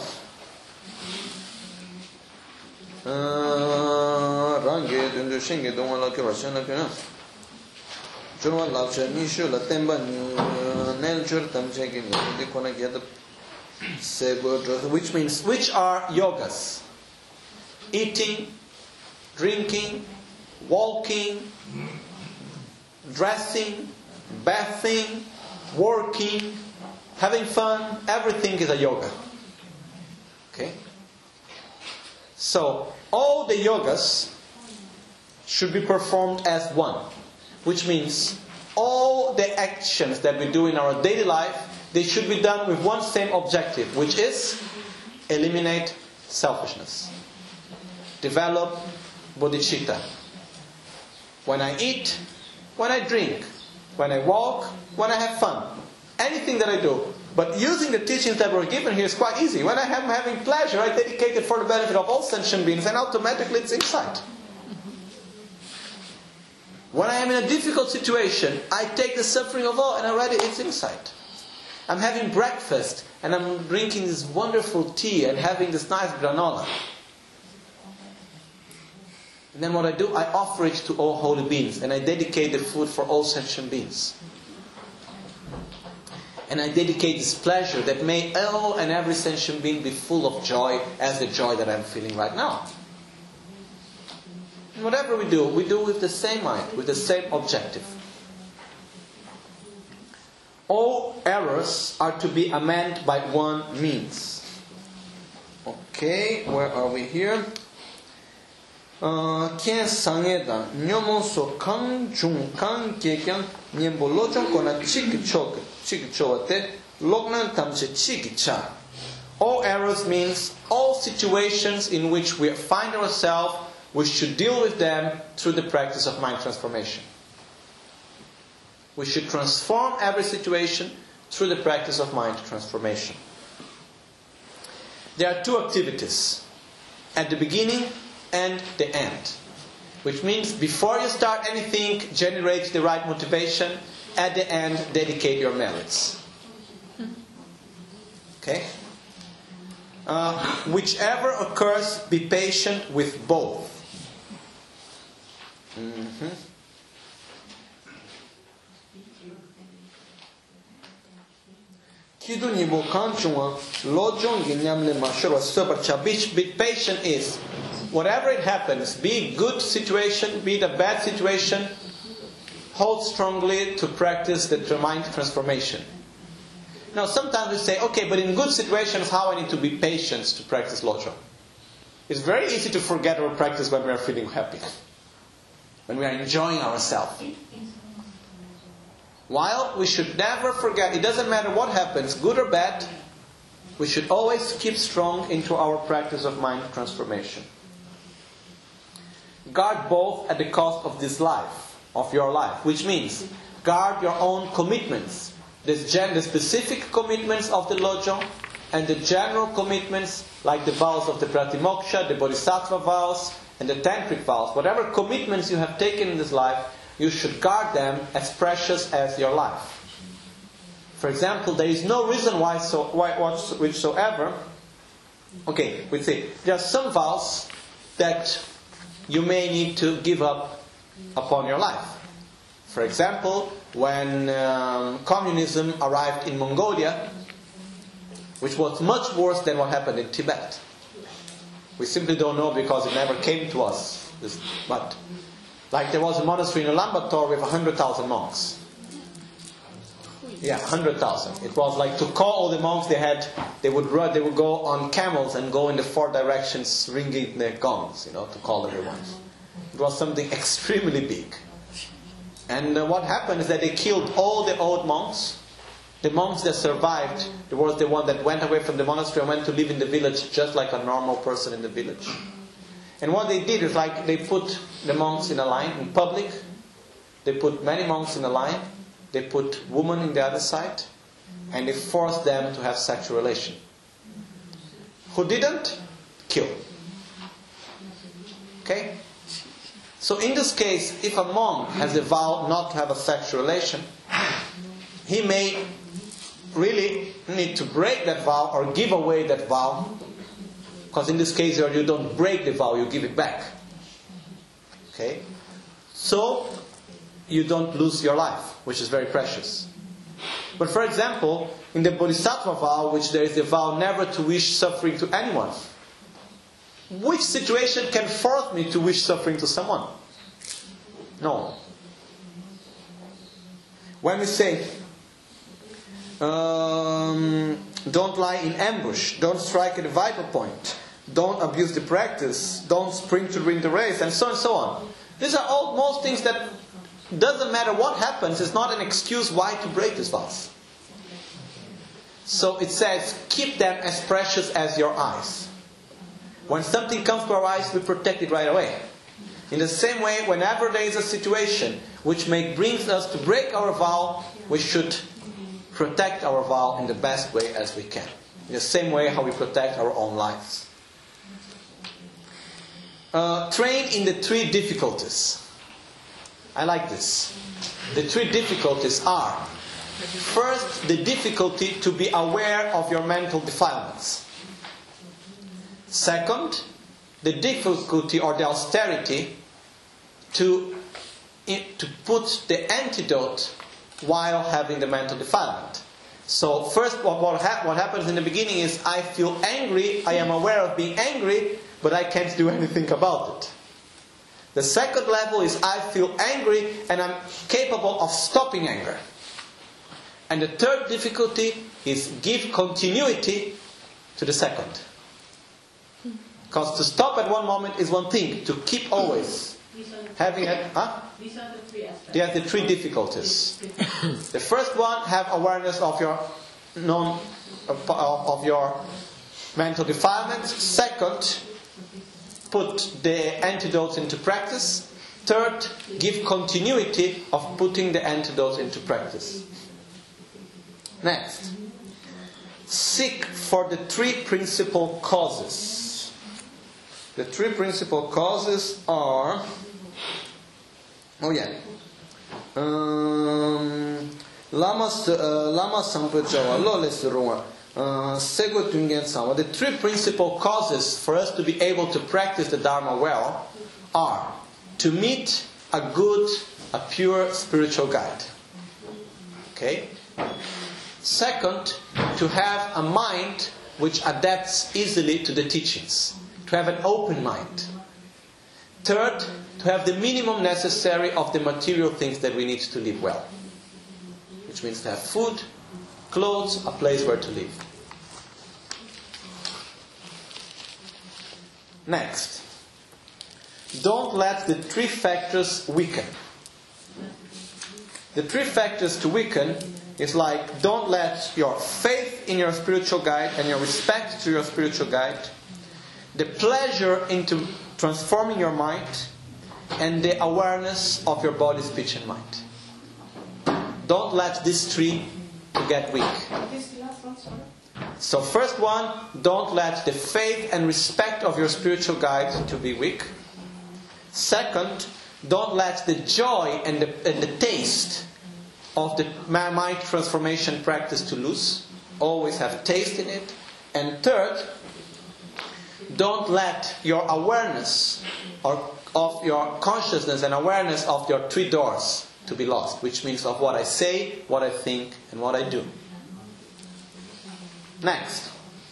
which means, which are yogas? Eating, drinking, walking, dressing, bathing, working, having fun, everything is a yoga. Okay? So, all the yogas should be performed as one. Which means, all the actions that we do in our daily life, they should be done with one same objective, which is eliminate selfishness. Develop bodhicitta. When I eat, when I drink, when I walk, when I have fun. Anything that I do. But using the teachings that were given here is quite easy. When I am having pleasure, I dedicate it for the benefit of all sentient beings, and automatically it's insight. When I am in a difficult situation, I take the suffering of all, and already it's insight. I'm having breakfast, and I'm drinking this wonderful tea, and having this nice granola. And then what I do, I offer it to all holy beings. And I dedicate the food for all sentient beings. And I dedicate this pleasure that may all and every sentient being be full of joy as the joy that I'm feeling right now. And whatever we do, we do with the same mind, with the same objective. All errors are to be amended by one means. Okay, where are we here? Kien sangeda nyomonso kang jung kang kekyan nyembo lochon kona chiki chok chiki chowate loknan tamche chiki cha. All errors means all situations in which we find ourselves, we should deal with them through the practice of mind transformation. We should transform every situation through the practice of mind transformation. There are two activities, at the beginning and the end. Which means before you start anything, generate the right motivation. At the end, dedicate your merits. Okay? Uh, whichever occurs, be patient with both. Mm-hmm. Be patient is, whatever it happens, be it good situation, be it a bad situation, hold strongly to practice the mind transformation. Now sometimes we say, okay, but in good situations, how I need to be patient to practice Lojong? It's very easy to forget our practice when we are feeling happy, when we are enjoying ourselves. While we should never forget, it doesn't matter what happens, good or bad, we should always keep strong into our practice of mind transformation. Guard both at the cost of this life, of your life, which means guard your own commitments. There's gen- the specific commitments of the Lojong and the general commitments like the vows of the Pratimoksha, the Bodhisattva vows and the Tantric vows. Whatever commitments you have taken in this life, you should guard them as precious as your life. For example, there is no reason why so why whichsoever. Okay, we see there are some vows that you may need to give up upon your life. For example, when um, communism arrived in Mongolia, which was much worse than what happened in Tibet. We simply don't know because it never came to us. This, but like there was a monastery in Ulaanbaatar with one hundred thousand monks. Yeah, one hundred thousand. It was like to call all the monks they had, they would run, they would go on camels and go in the four directions ringing their gongs, you know, to call everyone. It was something extremely big. And uh, what happened is that they killed all the old monks. The monks that survived, there was the one that went away from the monastery and went to live in the village just like a normal person in the village. And what they did is like they put the monks in a line in public. They put many monks in a line. They put women in the other side. And they forced them to have sexual relation. Who didn't? Kill. Okay? So in this case, if a monk has a vow not to have a sexual relation, he may really need to break that vow or give away that vow. Because in this case, you don't break the vow, you give it back. Okay? So, you don't lose your life, which is very precious. But for example, in the Bodhisattva vow, which there is the vow never to wish suffering to anyone. Which situation can force me to wish suffering to someone? No. When we say, um, don't lie in ambush, don't strike at a vital point, don't abuse the practice, don't sprint to win the race, and so on and so on. These are all most things that doesn't matter what happens, it's not an excuse why to break these vows. So it says, keep them as precious as your eyes. When something comes to our eyes, we protect it right away. In the same way, whenever there is a situation which may brings us to break our vow, we should protect our vow in the best way as we can. In the same way how we protect our own lives. Uh, train in the three difficulties. I like this. The three difficulties are: first, the difficulty to be aware of your mental defilements. Second, the difficulty or the austerity to, to put the antidote while having the mental defilement. So first what, what, ha- what happens in the beginning is I feel angry, I am aware of being angry, but I can't do anything about it. The second level is I feel angry and I'm capable of stopping anger. And the third difficulty is give continuity to the second. Because to stop at one moment is one thing, to keep always having it. Huh? These are the three aspects. They are the three difficulties. The first one, have awareness of your non of, of your mental defilements. Second, put the antidotes into practice. Third, give continuity of putting the antidotes into practice. Next, seek for the three principal causes. The three principal causes are, oh yeah, um, lama lama sampajawa lo le surunga sego tungen sama. The three principal causes for us to be able to practice the Dharma well are to meet a good, a pure spiritual guide. Okay. Second, to have a mind which adapts easily to the teachings. To have an open mind. Third, to have the minimum necessary of the material things that we need to live well. Which means to have food, clothes, a place where to live. Next, don't let the three factors weaken. The three factors to weaken is like, don't let your faith in your spiritual guide and your respect to your spiritual guide, the pleasure into transforming your mind, and the awareness of your body, speech and mind. Don't let these three to get weak. So first one, don't let the faith and respect of your spiritual guide to be weak. Second, don't let the joy and the, and the taste of the mind transformation practice to lose. Always have taste in it. And third, don't let your awareness or of your consciousness and awareness of your three doors to be lost, which means of what I say, what I think, and what I do. Next.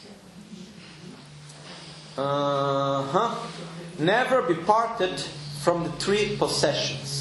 Uh-huh. Never be parted from the three possessions.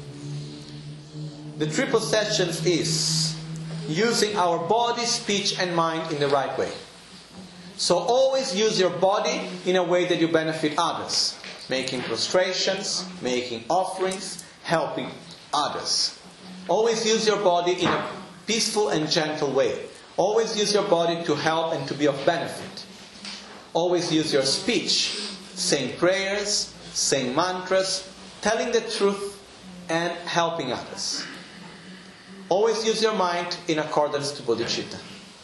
The three possessions is using our body, speech and mind in the right way. So always use your body in a way that you benefit others. Making prostrations, making offerings, helping others. Always use your body in a peaceful and gentle way. Always use your body to help and to be of benefit. Always use your speech, saying prayers, saying mantras, telling the truth and helping others. Always use your mind in accordance to bodhicitta.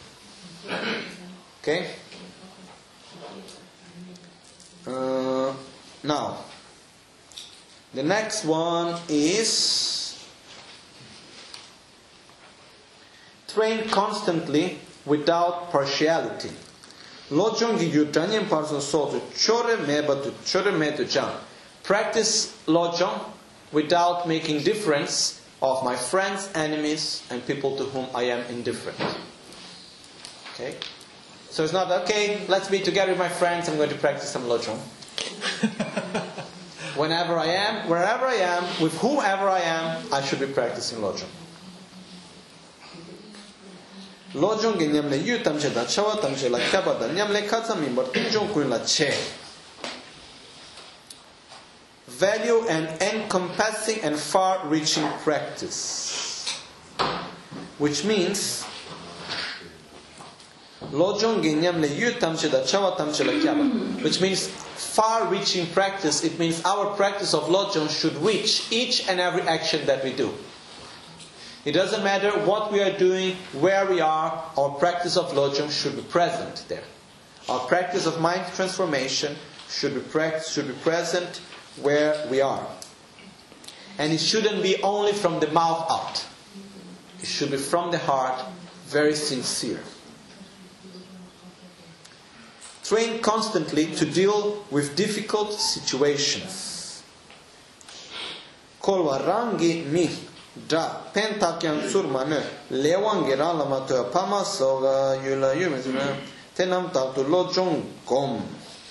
Okay? Uh, now, the next one is train constantly without partiality. Practice lojong without making difference of my friends, enemies, and people to whom I am indifferent. Okay? So it's not, okay, let's be together with my friends, I'm going to practice some lojong. Whenever I am, wherever I am, with whoever I am, I should be practicing lojong. Lojong ge nyam le yu tam che da chawa tam che la kaba da nyam le khatsa mi bor tinjong kuin la che. Value and encompassing and far-reaching practice, which means lojong ge nyam le yu tam che da chawa tam che la kaba, which means far-reaching practice. It means our practice of lojong should reach each and every action that we do. It doesn't matter what we are doing, where we are, our practice of lojong should be present there. Our practice of mind transformation should be, practice, should be present where we are. And it shouldn't be only from the mouth out. It should be from the heart, very sincere. Train constantly to deal with difficult situations. Kolwa rangi mi dra pentakyan surmane lewangi ralama to pama soga yula yumizuna tenam taktu lojong gom.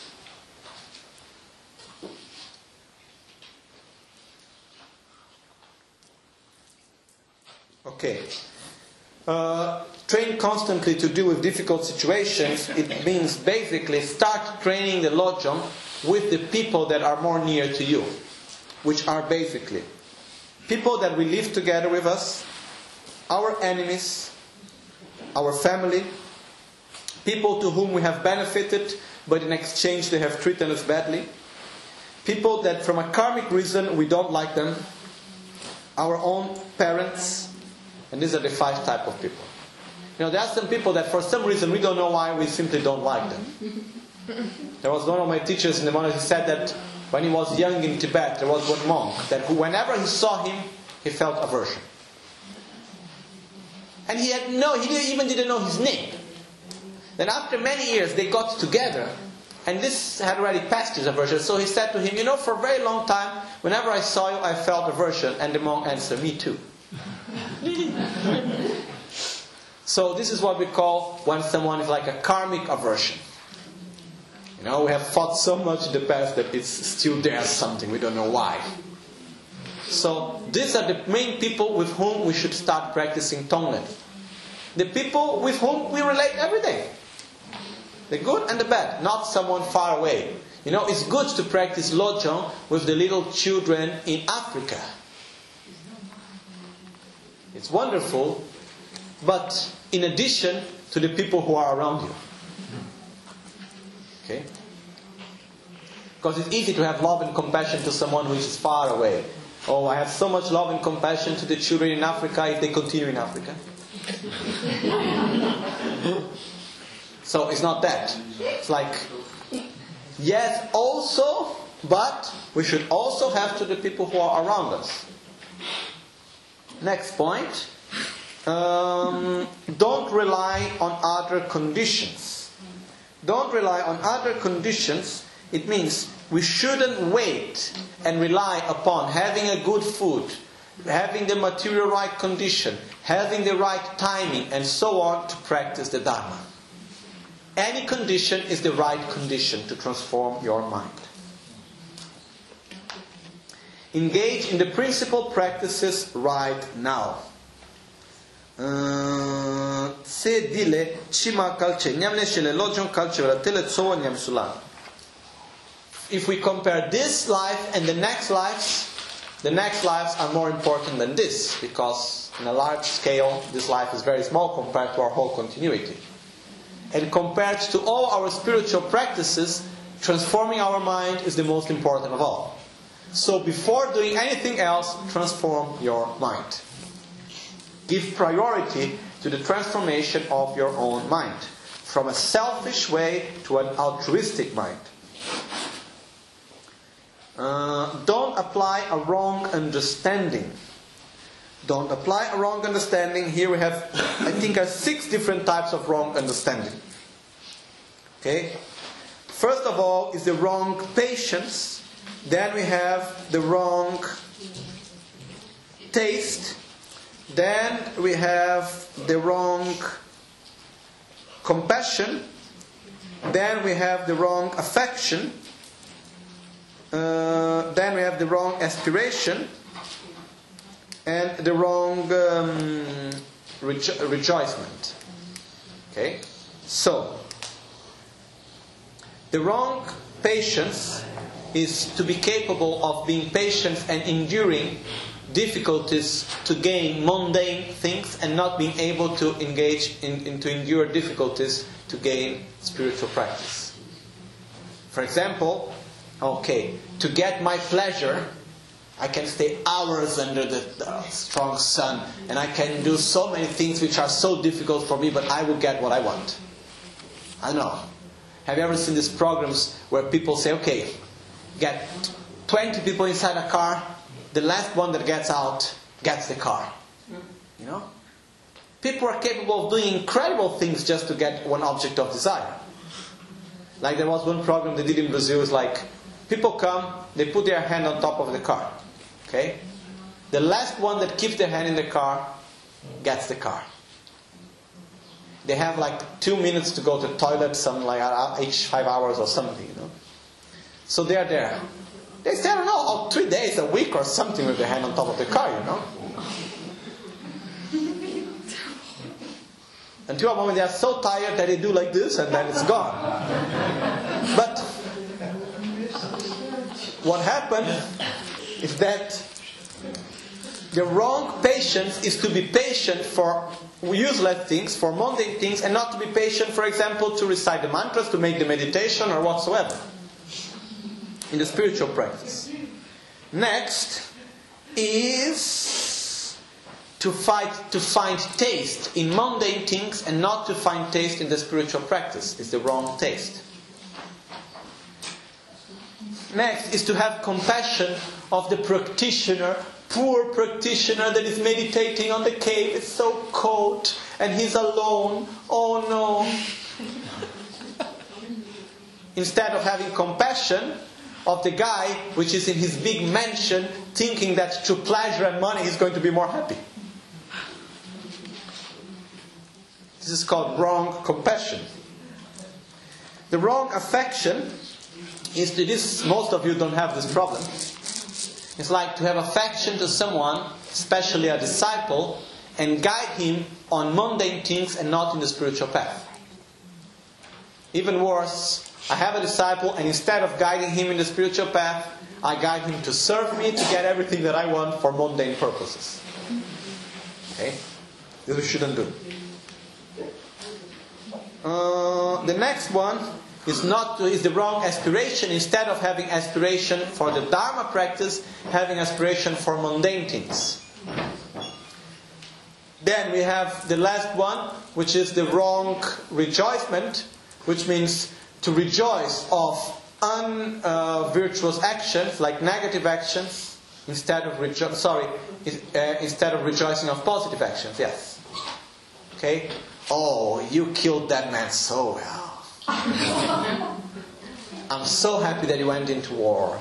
Okay. Uh, train constantly to deal with difficult situations. It means basically start training the lojong with the people that are more near to you, which are basically people that we live together with us, our enemies, our family, people to whom we have benefited, but in exchange they have treated us badly, people that from a karmic reason we don't like them, our own parents. And these are the five type of people. You know, there are some people that for some reason we don't know why, we simply don't like them. There was one of my teachers in the monastery who said that when he was young in Tibet, there was one monk that who, whenever he saw him, he felt aversion. And he had no, he didn't, even didn't know his name. Then after many years, they got together, and this had already passed his aversion. So he said to him, you know, for a very long time, whenever I saw you, I felt aversion. And the monk answered, me too. So this is what we call when someone is like a karmic aversion. You know, we have fought so much in the past that it's still there something, we don't know why. So these are the main people with whom we should start practicing Tonglen. The people with whom we relate every day. The good and the bad, not someone far away. You know, it's good to practice Lojong with the little children in Africa. It's wonderful, but in addition to the people who are around you. Okay? Because it's easy to have love and compassion to someone who is far away. Oh, I have so much love and compassion to the children in Africa if they continue in Africa. So it's not that. It's like, yes, also, but we should also have to the people who are around us. Next point. Um, don't rely on other conditions. Don't rely on other conditions. It means we shouldn't wait and rely upon having a good food, having the material right condition, having the right timing, and so on to practice the Dharma. Any condition is the right condition to transform your mind. Engage in the principal practices right now. Se dile chima kalche nyamne shele lojong kalche vela tele tsowa nyam sulan. If we compare this life and the next lives, the next lives are more important than this, because in a large scale this life is very small compared to our whole continuity. And compared to all our spiritual practices, transforming our mind is the most important of all. So before doing anything else, transform your mind. Give priority to the transformation of your own mind, from a selfish way to an altruistic mind. Uh, don't apply a wrong understanding. Don't apply a wrong understanding. Here we have, I think, uh, six different types of wrong understanding. Okay? First of all is the wrong patience. Then we have the wrong taste. Then we have the wrong compassion. Then we have the wrong affection. Uh, then we have the wrong aspiration. And the wrong um, rejo- rejoicement. Okay? So, the wrong patience is to be capable of being patient and enduring difficulties to gain mundane things and not being able to engage in, in to endure difficulties to gain spiritual practice. For example, okay, to get my pleasure, I can stay hours under the, the strong sun and I can do so many things which are so difficult for me, but I will get what I want. I know. Have you ever seen these programs where people say, okay, get twenty people inside a car, the last one that gets out gets the car. You know? People are capable of doing incredible things just to get one object of desire. Like there was one program they did in Brazil, it's like, people come, they put their hand on top of the car. Okay? The last one that keeps their hand in the car gets the car. They have like two minutes to go to the toilet, some like each five hours or something, you know. So they are there. They say, I don't know, oh, three days, a week or something with their hand on top of the car, you know. Until a moment they are so tired that they do like this and then it's gone. But what happened is that the wrong patience is to be patient for useless things, for mundane things, and not to be patient, for example, to recite the mantras, to make the meditation or whatsoever in the spiritual practice. Next is to fight to find taste in mundane things and not to find taste in the spiritual practice. It's the wrong taste. Next is to have compassion of the practitioner, poor practitioner that is meditating on the cave. It's so cold and he's alone. Oh no. Instead of having compassion of the guy which is in his big mansion thinking that through pleasure and money he's going to be more happy. This is called wrong compassion. The wrong affection is to this, most of you don't have this problem. It's like to have affection to someone, especially a disciple, and guide him on mundane things and not in the spiritual path. Even worse, I have a disciple and instead of guiding him in the spiritual path, I guide him to serve me to get everything that I want for mundane purposes. Okay? This we shouldn't do. Uh, the next one is not is the wrong aspiration. Instead of having aspiration for the Dharma practice, having aspiration for mundane things. Then we have the last one, which is the wrong rejoicement, which means to rejoice of unvirtuous uh, actions, like negative actions, instead of rejo- sorry, uh, instead of rejoicing of positive actions. Yes. Okay. Oh, you killed that man so well. I'm so happy that he went into war.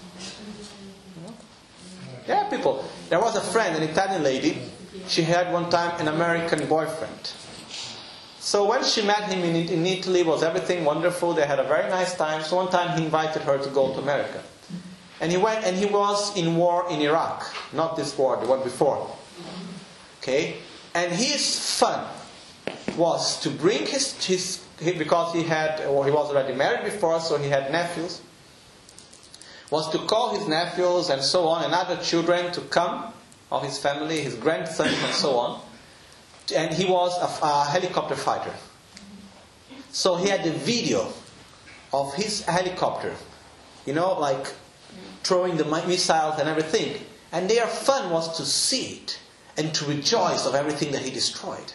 Yeah, people. There was a friend, an Italian lady. She had one time an American boyfriend. So when she met him in, in Italy, was everything wonderful. They had a very nice time. So one time he invited her to go to America. And he went, and he was in war in Iraq. Not this war, the one before. Okay? And his fun was to bring his, his because he had, or he was already married before, so he had nephews, was to call his nephews and so on, and other children to come of his family, his grandsons and so on. And he was a, a helicopter fighter. So he had the video of his helicopter, you know, like throwing the missiles and everything. And their fun was to see it and to rejoice of everything that he destroyed.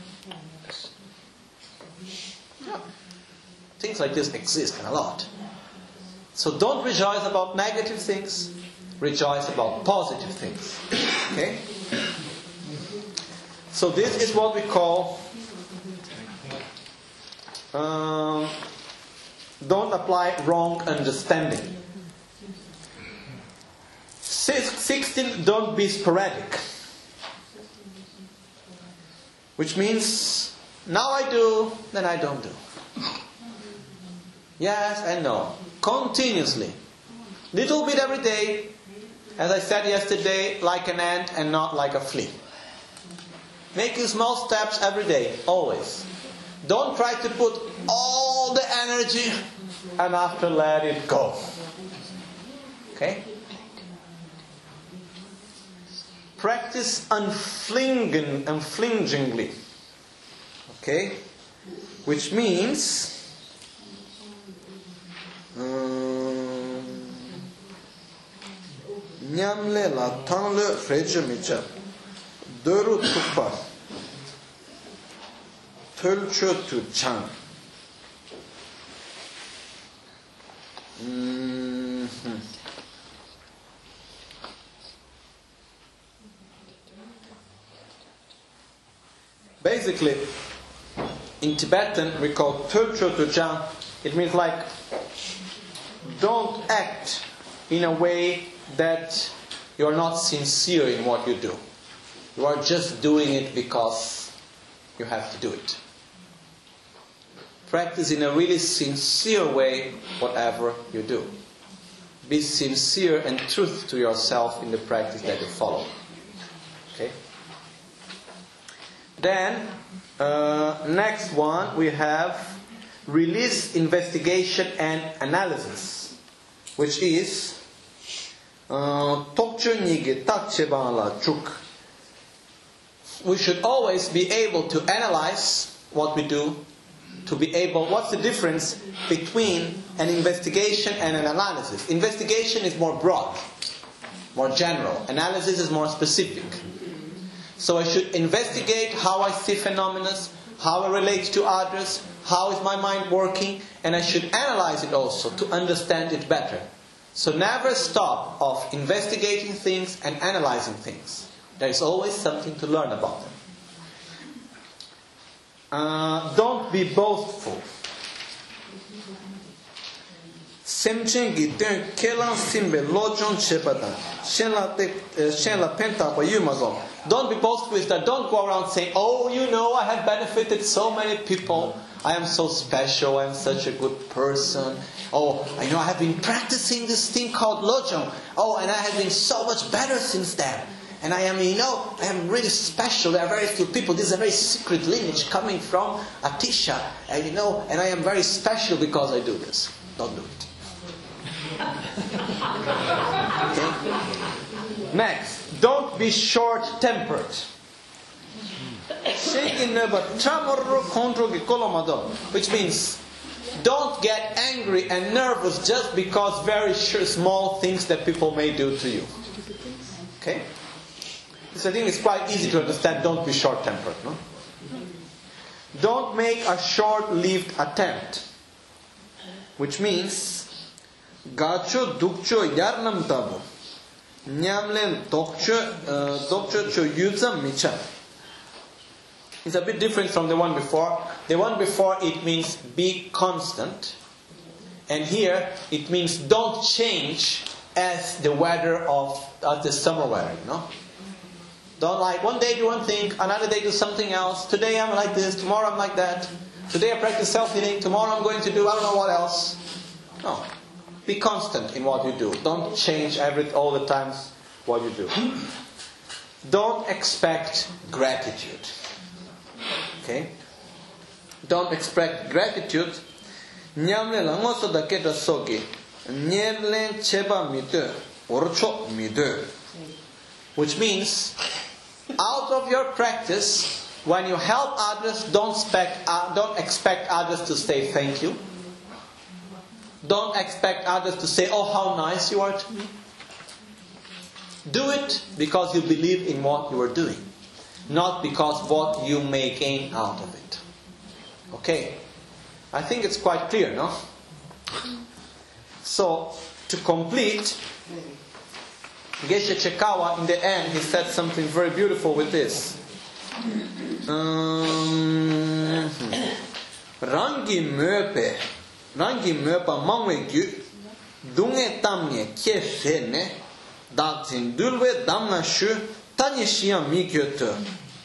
Yeah. Things like this exist a lot. So don't rejoice about negative things. Rejoice about positive things. Okay? So this is what we call um, don't apply wrong understanding. sixteen, don't be sporadic. Which means, now I do, then I don't do. Yes and no. Continuously. Little bit every day. As I said yesterday, like an ant and not like a flea. Making small steps every day, always. Don't try to put all the energy and after let it go. Okay? Practice unflinging, unflinchingly. Okay? Which means Nyamle la tangle frejemicha Duru tupa Tulchu tu chan. Mm-hmm. Basically, in Tibetan we call Tulchu tu chan. It means like, don't act in a way that you are not sincere in what you do. You are just doing it because you have to do it. Practice in a really sincere way whatever you do. Be sincere and truth to yourself in the practice that you follow. Okay? Then, uh, next one we have release, investigation and analysis, which is uh, we should always be able to analyze what we do, to be able, what's the difference between an investigation and an analysis? Investigation is more broad, more general. Analysis is more specific. So I should investigate how I see phenomena, how I relate to others, how is my mind working, and I should analyze it also to understand it better. So never stop of investigating things and analyzing things. There is always something to learn about them. Uh, don't be boastful. Don't be boastful with that. Don't go around saying, oh, you know, I have benefited so many people. I am so special. I am such a good person. Oh, I know I have been practicing this thing called Lojong. Oh, and I have been so much better since then. And I am, you know, I am really special. There are very few people. This is a very secret lineage coming from Atisha. And you know, and I am very special because I do this. Don't do it. Okay? Next, don't be short-tempered. Which means, don't get angry and nervous just because very small things that people may do to you. Okay? This I think is quite easy to understand. Don't be short-tempered. No? Don't make a short-lived attempt. Which means, gacho dukcho yarnam tabu. Nyamlen dokcho dokcho cho yuzam micha. It's a bit different from the one before. The one before, it means be constant. And here it means don't change as the weather of as the summer weather, you know? Don't like one day do one thing, another day do something else. Today I'm like this, tomorrow I'm like that. Today I practice self-healing, tomorrow I'm going to do I don't know what else. No. Be constant in what you do. Don't change every all the times what you do. Don't expect gratitude. Okay? Don't expect gratitude. Nyamle la ngoso da keta soki. Nyerlen cheba mide. Orcho mide. Which means, out of your practice, when you help others, don't expect, uh, don't expect others to say thank you. Don't expect others to say, oh, how nice you are to me. Do it because you believe in what you are doing, not because what you may gain out of it. Okay? I think it's quite clear, no? So, to complete, Geshe Chekawa, in the end, he said something very beautiful with this. Um, Rangi möpe, rangi möpa mangwe gyu, dunge tamye kye shene, dakzin dulwe damna shu, tanye shiyan mi kyoto.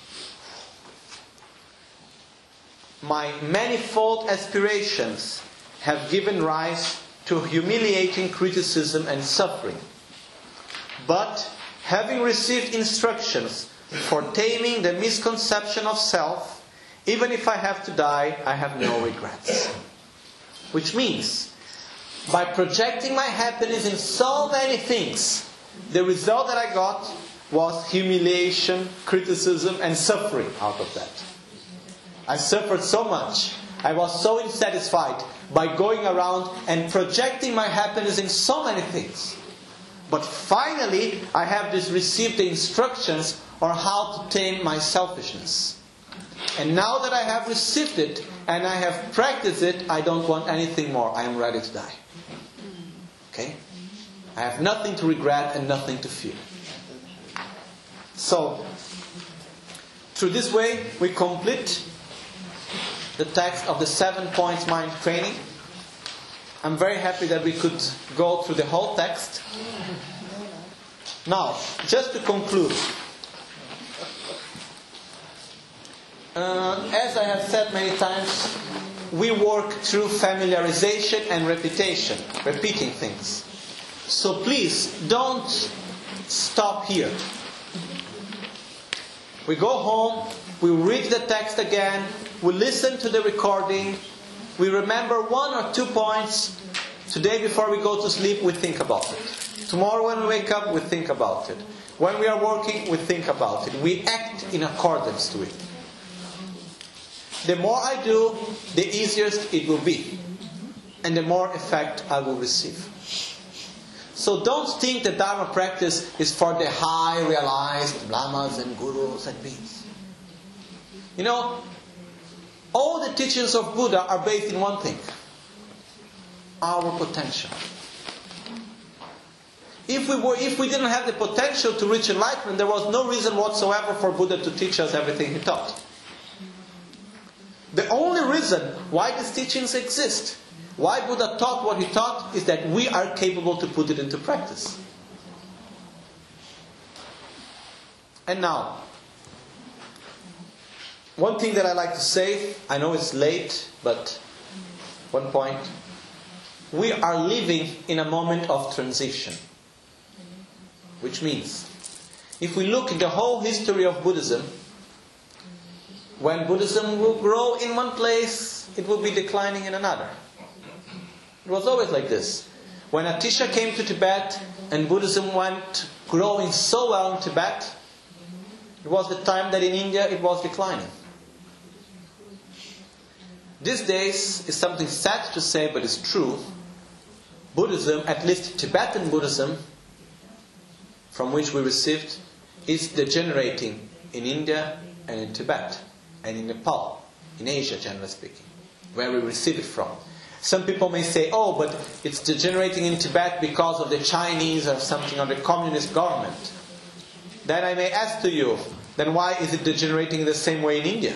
My manifold aspirations have given rise to humiliating criticism and suffering. But, having received instructions for taming the misconception of self, even if I have to die, I have no regrets. Which means, by projecting my happiness in so many things, the result that I got was humiliation, criticism, and suffering out of that. I suffered so much. I was so insatisfied by going around and projecting my happiness in so many things. But finally, I have just received the instructions on how to tame my selfishness. And now that I have received it and I have practiced it, I don't want anything more. I am ready to die. Okay? I have nothing to regret and nothing to fear. So, through this way, we complete the text of the seven points mind training. I'm very happy that we could go through the whole text. Now, just to conclude, uh, as I have said many times, we work through familiarization and repetition, repeating things. So please, don't stop here. We go home, we read the text again, we listen to the recording, we remember one or two points. Today before we go to sleep, we think about it. Tomorrow when we wake up, we think about it. When we are working, we think about it. We act in accordance to it. The more I do, the easier it will be. And the more effect I will receive. So don't think that Dharma practice is for the high realized lamas and gurus and beings. You know, all the teachings of Buddha are based in one thing. Our potential. If we were, if we didn't have the potential to reach enlightenment, there was no reason whatsoever for Buddha to teach us everything he taught. The only reason why these teachings exist, why Buddha taught what he taught, is that we are capable to put it into practice. And now, one thing that I like to say, I know it's late, but one point. We are living in a moment of transition. Which means, if we look at the whole history of Buddhism, when Buddhism will grow in one place, it will be declining in another. It was always like this. When Atisha came to Tibet and Buddhism went growing so well in Tibet, it was the time that in India it was declining. These days is something sad to say, but it's true. Buddhism, at least Tibetan Buddhism, from which we received, is degenerating in India and in Tibet and in Nepal, in Asia generally speaking, where we receive it from. Some people may say, oh, but it's degenerating in Tibet because of the Chinese or something, or the communist government. Then I may ask to you, then why is it degenerating the same way in India?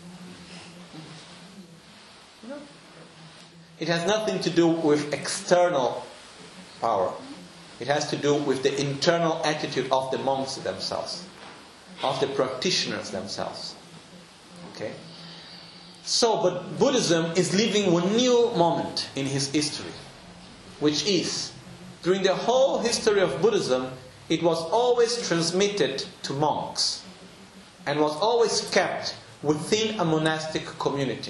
It has nothing to do with external power. It has to do with the internal attitude of the monks themselves, of the practitioners themselves. Okay? So, but Buddhism is living one new moment in its history, which is, during the whole history of Buddhism, it was always transmitted to monks and was always kept within a monastic community.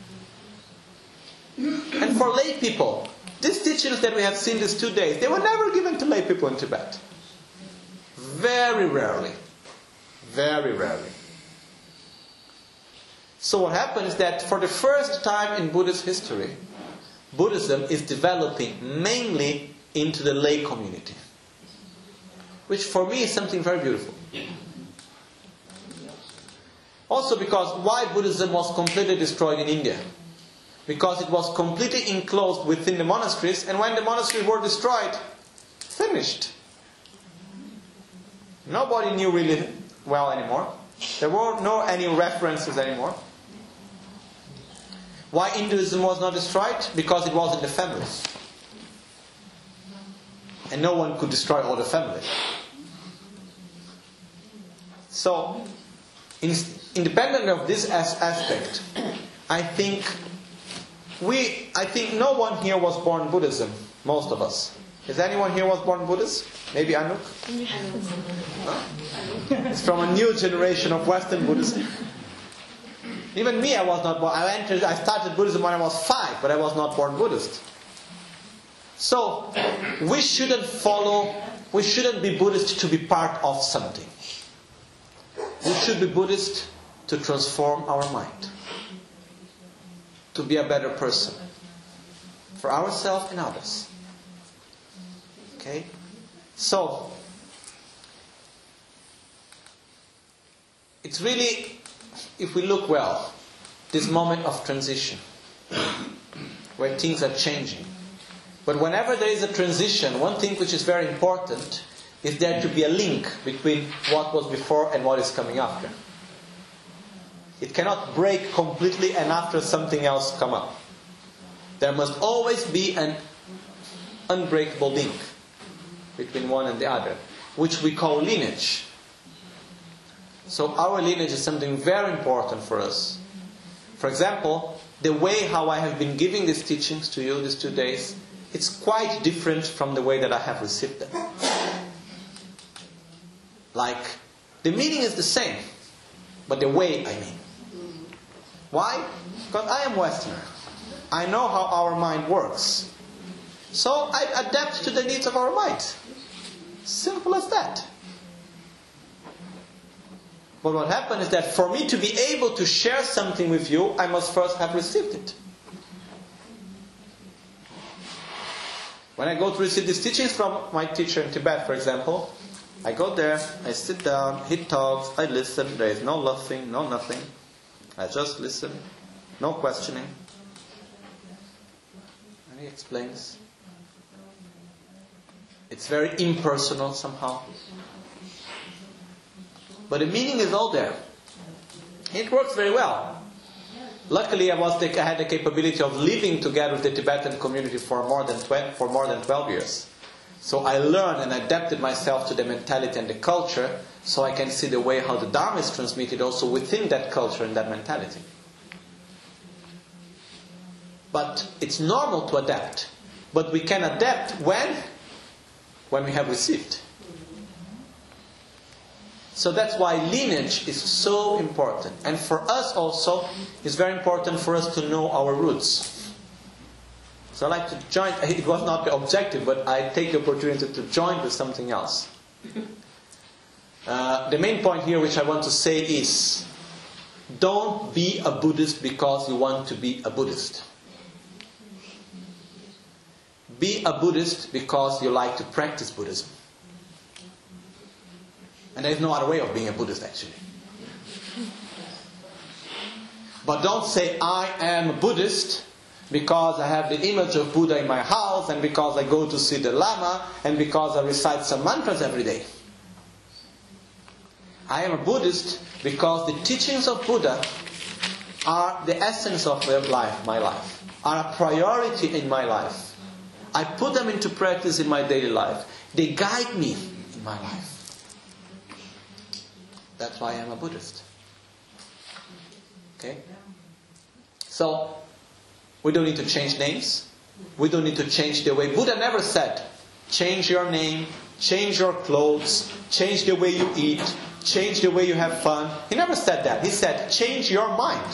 And for lay people, these teachings that we have seen these two days, they were never given to lay people in Tibet. Very rarely. Very rarely. So what happens is that for the first time in Buddhist history, Buddhism is developing mainly into the lay community. Which for me is something very beautiful. Also because why Buddhism was completely destroyed in India? Because it was completely enclosed within the monasteries, and when the monasteries were destroyed, finished. Nobody knew really well anymore. There were no any references anymore. Why Hinduism was not destroyed? Because it was in the families. And no one could destroy all the families. So, in, independent of this as aspect, I think we, I think no one here was born Buddhism. Most of us. Is anyone here was born Buddhist? Maybe Anuk? No? It's from a new generation of Western Buddhism. Even me, I was not born. I entered. I started Buddhism when I was five, but I was not born Buddhist. So we shouldn't follow. We shouldn't be Buddhist to be part of something. We should be Buddhist to transform our mind, to be a better person for ourselves and others. Okay? So, it's really, if we look well, this moment of transition, where things are changing. But whenever there is a transition, one thing which is very important is there to be a link between what was before and what is coming after. It cannot break completely and after something else come up. There must always be an unbreakable link between one and the other. which we call lineage. So our lineage is something very important for us. For example, the way how I have been giving these teachings to you these two days, it's quite different from the way that I have received them. Like, the meaning is the same, but the way, I mean. Why? Because I am Westerner. I know how our mind works. So I adapt to the needs of our mind. Simple as that. But what happened is that for me to be able to share something with you, I must first have received it. When I go to receive these teachings from my teacher in Tibet, for example, I go there, I sit down, he talks, I listen, there is no laughing, no nothing. I just listen, no questioning. And he explains. It's very impersonal somehow. But the meaning is all there. It works very well. Luckily, I was the, I had the capability of living together with the Tibetan community for more than twenty, for more than twelve years. So I learned and adapted myself to the mentality and the culture, so I can see the way how the Dharma is transmitted also within that culture and that mentality. But it's normal to adapt. But we can adapt when? When we have received. So that's why lineage is so important. And for us also, it's very important for us to know our roots. So I like to join, it was not the objective, but I take the opportunity to join with something else. Uh, the main point here which I want to say is, don't be a Buddhist because you want to be a Buddhist. Be a Buddhist because you like to practice Buddhism. And there is no other way of being a Buddhist, actually. But don't say, I am a Buddhist because I have the image of Buddha in my house, and because I go to see the Lama, and because I recite some mantras every day. I am a Buddhist because the teachings of Buddha are the essence of my life, my life, are a priority in my life. I put them into practice in my daily life. They guide me in my life. That's why I am a Buddhist. Okay? So, we don't need to change names. We don't need to change the way. Buddha never said, change your name, change your clothes, change the way you eat, change the way you have fun. He never said that. He said, change your mind.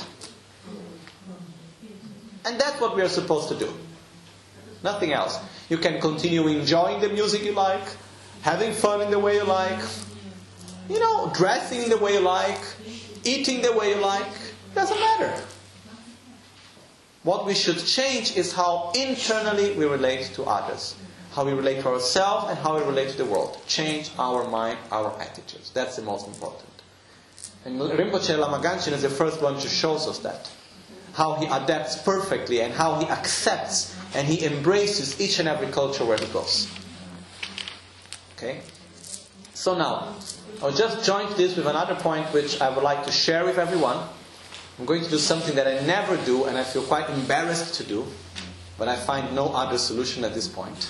And that's what we are supposed to do. Nothing else. You can continue enjoying the music you like, having fun in the way you like, you know, dressing in the way you like, eating the way you like. Doesn't matter. What we should change is how internally we relate to others. How we relate to ourselves and how we relate to the world. Change our mind, our attitudes. That's the most important. And Rinpoche Lama Gangchen is the first one to show us that. How he adapts perfectly and how he accepts and he embraces each and every culture where he goes. Okay? So now, I'll just join this with another point which I would like to share with everyone. I'm going to do something that I never do and I feel quite embarrassed to do, but I find no other solution at this point.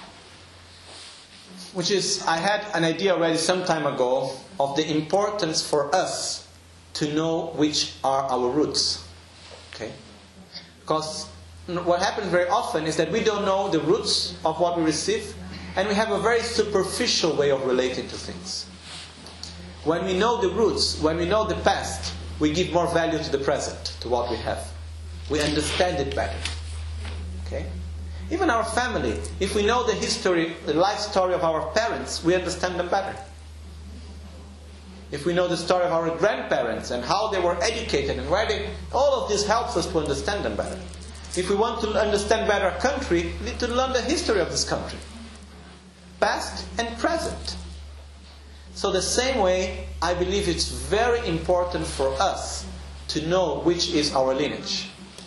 Which is, I had an idea already some time ago of the importance for us to know which are our roots. Okay? Because what happens very often is that we don't know the roots of what we receive, and we have a very superficial way of relating to things. When we know the roots, when we know the past, we give more value to the present, to what we have. We understand it better. Okay? Even our family, if we know the history, the life story of our parents, we understand them better. If we know the story of our grandparents and how they were educated and where they, all of this helps us to understand them better. If we want to understand better a country, we need to learn the history of this country. Past and present. So the same way, I believe it's very important for us to know which is our lineage.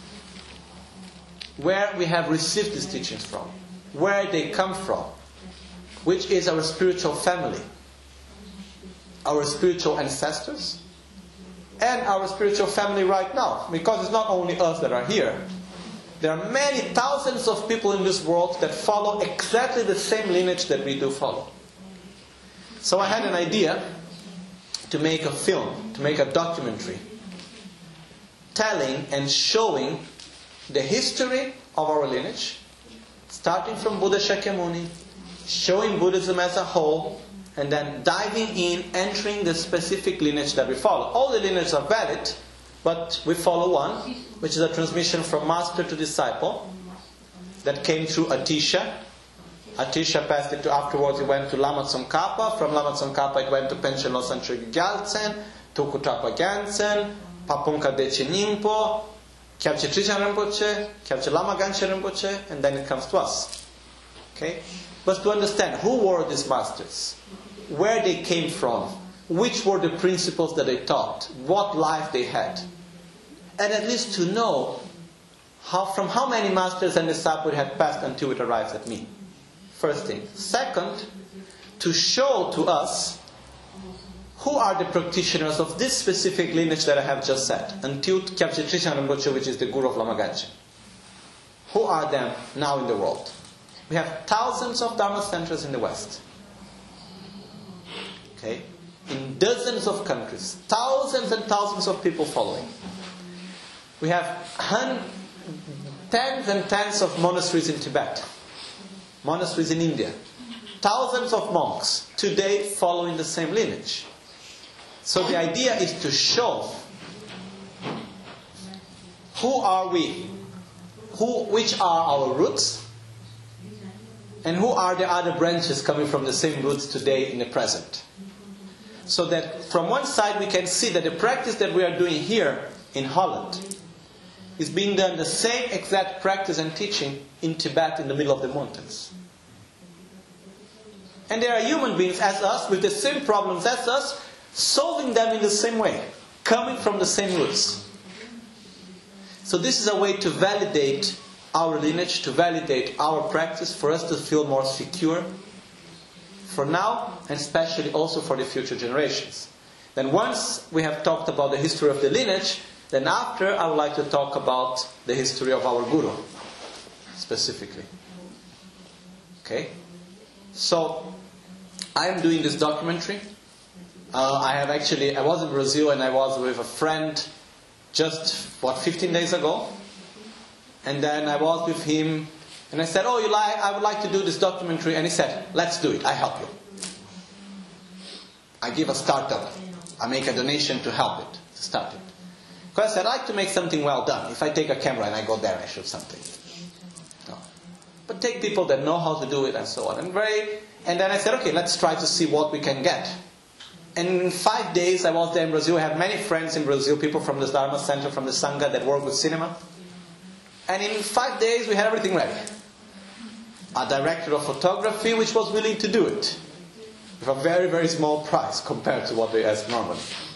Where we have received these teachings from. Where they come from. Which is our spiritual family. Our spiritual ancestors. And our spiritual family right now. Because it's not only us that are here. There are many thousands of people in this world that follow exactly the same lineage that we do follow. So I had an idea to make a film, to make a documentary, telling and showing the history of our lineage, starting from Buddha Shakyamuni, showing Buddhism as a whole, and then diving in, entering the specific lineage that we follow. All the lineages are valid, but we follow one, which is a transmission from master to disciple, that came through Atisha. Atisha passed it to, afterwards it went to Lama Tsongkhapa. From Lama Tsongkhapa it went to Panchen Losang Chögyal Gyaltsen, to Kutrapa Gyaltsen, Papunka Deche Nimpo, Kyabche Trishan Rinpoche, Kyabche Lama Ganchen Rinpoche, and then it comes to us. Okay? But to understand who were these masters, where they came from, which were the principles that they taught, what life they had, and at least to know how, from how many masters and disciples had passed until it arrives at me. First thing. Second, to show to us who are the practitioners of this specific lineage that I have just said, until Kyabche Trishan Rinpoche, which is the guru of Lama Ganchen. Who are them now in the world? We have thousands of Dharma centers in the West. Okay? In dozens of countries. Thousands and thousands of people following. We have hundreds, tens and tens of monasteries in Tibet. Monasteries in India. Thousands of monks today following the same lineage. So the idea is to show who are we, who, which are our roots, and who are the other branches coming from the same roots today in the present. So that from one side we can see that the practice that we are doing here in Holland is being done the same exact practice and teaching in Tibet in the middle of the mountains. And there are human beings as us with the same problems as us, solving them in the same way, coming from the same roots. So this is a way to validate our lineage, to validate our practice, for us to feel more secure for now, and especially also for the future generations. Then once we have talked about the history of the lineage, then after I would like to talk about the history of our Guru, specifically. Okay? So, I am doing this documentary. Uh, I have actually, I was in Brazil and I was with a friend just, what, fifteen days ago. And then I was with him and I said, oh, you like, I would like to do this documentary. And he said, let's do it, I help you. I give a startup. I make a donation to help it, to start it. Because I like to make something well done. If I take a camera and I go there and I shoot something. No. But take people that know how to do it and so on. And very, and then I said, okay, let's try to see what we can get. And in five days I was there in Brazil. I have many friends in Brazil, people from the Dharma Center, from the Sangha that work with cinema. And in five days we had everything ready. A director of photography which was willing to do it. With a very, very small price compared to what they ask normally.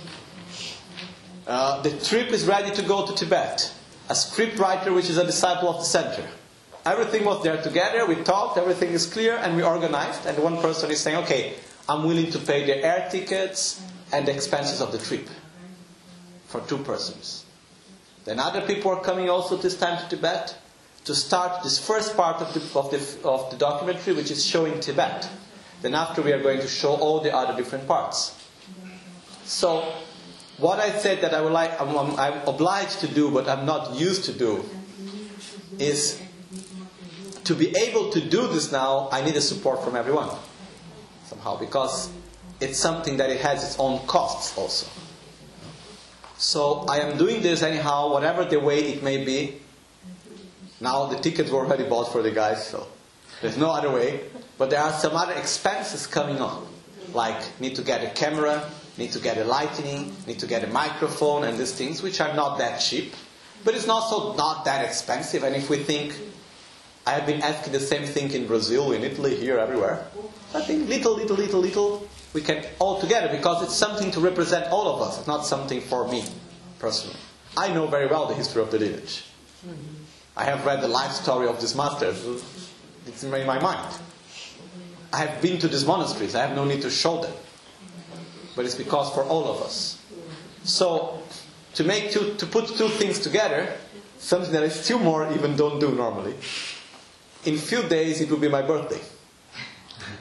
Uh, the trip is ready to go to Tibet. A script writer which is a disciple of the center. Everything was there together, we talked, everything is clear, and we organized. And one person is saying, okay, I'm willing to pay the air tickets and the expenses of the trip. For two persons. Then other people are coming also this time to Tibet to start this first part of the, of the, of the documentary, which is showing Tibet. Then after we are going to show all the other different parts. So, what I said that I would like, I'm, I'm, I'm obliged to do, but I'm not used to do, is to be able to do this now, I need a support from everyone. Somehow, because it's something that it has its own costs also. So I am doing this anyhow, whatever the way it may be. Now the tickets were already bought for the guys, so there's no other way. But there are some other expenses coming on. Like, need to get a camera, need to get a lighting, need to get a microphone and these things, which are not that cheap. But it's also not that expensive. And if we think, I have been asking the same thing in Brazil, in Italy, here, everywhere. I think little, little, little, little, we can all together, because it's something to represent all of us. It's not something for me, personally. I know very well the history of the lineage. I have read the life story of this master. It's in my mind. I have been to these monasteries. I have no need to show them. But it's because for all of us. So, to make two, to put two things together, something that I still more even don't do normally. In few days it will be my birthday.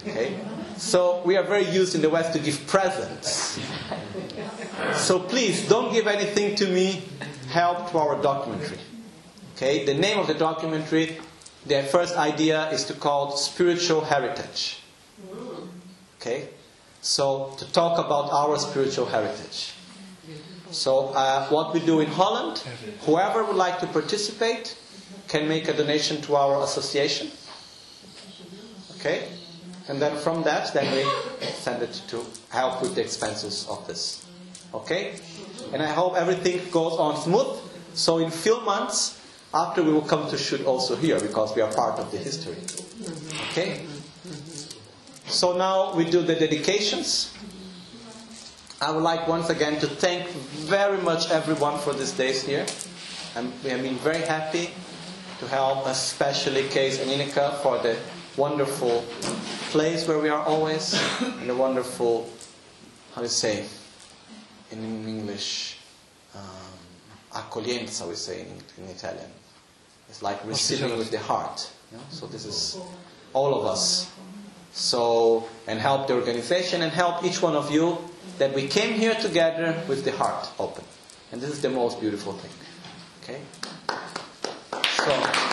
Okay? So we are very used in the West to give presents. So please, don't give anything to me. Help to our documentary. Okay? The name of the documentary, the first idea is to call it Spiritual Heritage. Okay? So, to talk about our spiritual heritage. So, uh, what we do in Holland, whoever would like to participate can make a donation to our association. Okay? And then from that, then we send it to help with the expenses of this. Okay? And I hope everything goes on smooth. So in few months, after we will come to shoot also here, because we are part of the history. Okay? So now we do the dedications. I would like once again to thank very much everyone for these days here. And we have been very happy to help, especially Kees and Ineke, for the wonderful place where we are always, and the wonderful, how do you say, in English, um, accoglienza, we say in, in Italian. It's like receiving with the heart. You know? So this is all of us. So, and help the organization and help each one of you that we came here together with the heart open. And this is the most beautiful thing. Okay? So,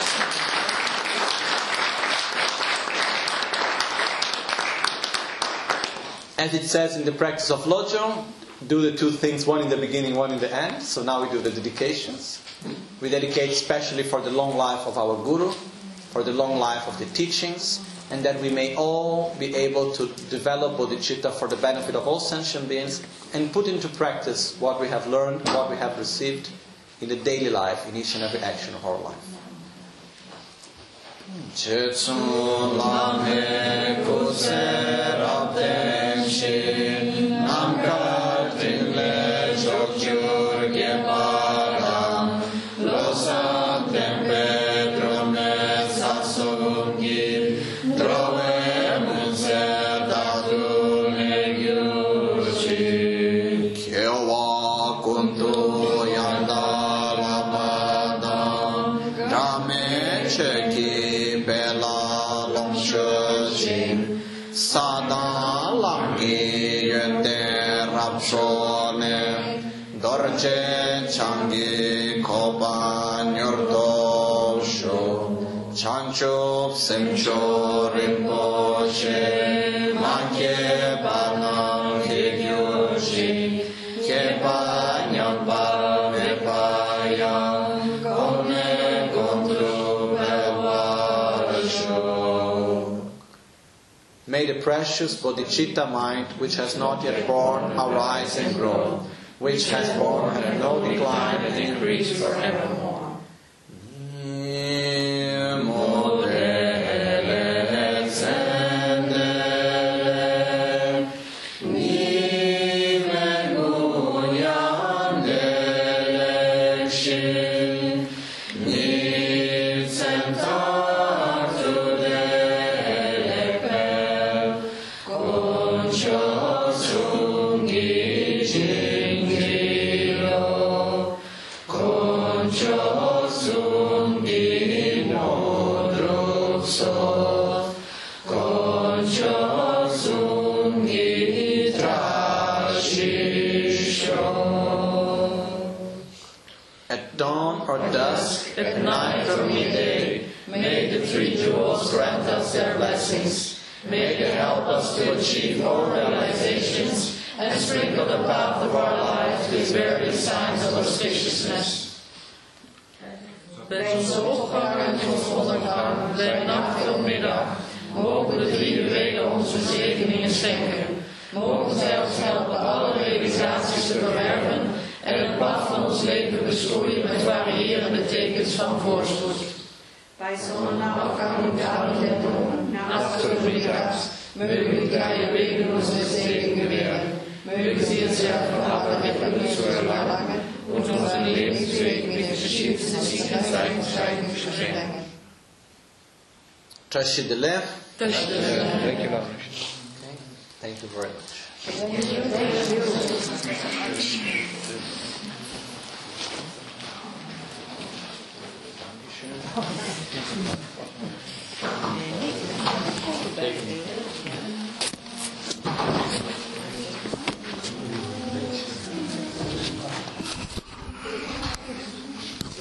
as it says in the practice of Lojong, do the two things, one in the beginning, one in the end. So now we do the dedications. We dedicate especially for the long life of our Guru, for the long life of the teachings, and that we may all be able to develop bodhicitta for the benefit of all sentient beings and put into practice what we have learned, what we have received in the daily life, in each and every action of our life. Dorje changi koba nyordo sho chancho semcho rinpoche manke bana kegyoshi keba nyamba mepaya kone gondru bewasho. May the precious bodhicitta mind, which has not yet born, arise and grow, which has born and no decline and increase forevermore. At dawn or dusk, at night or midday, may the three jewels grant us their blessings. May they help us to achieve all realizations and sprinkle the path of our lives with various signs of auspiciousness. Bij onze opgang en onze ondergang, bij nacht of middag, mogen de drie wegen onze zegeningen schenken. Mogen zij ons helpen alle realisaties te verwerven en het pad van ons leven bestoeien met variërende tekens van voorspoed. Bij zonneopgang en dagen der bomen, nacht of middags, mögen die drei wegen onze Segen gewähren. Mögen sie uns helfen, aber mit Genuss zu erlangen und unseren Lebensweg mit verschiedensten Sicherheiten zu schenken. Touch the left. Touch the left. Thank you, Lord. Okay. Thank you very much. Thank you.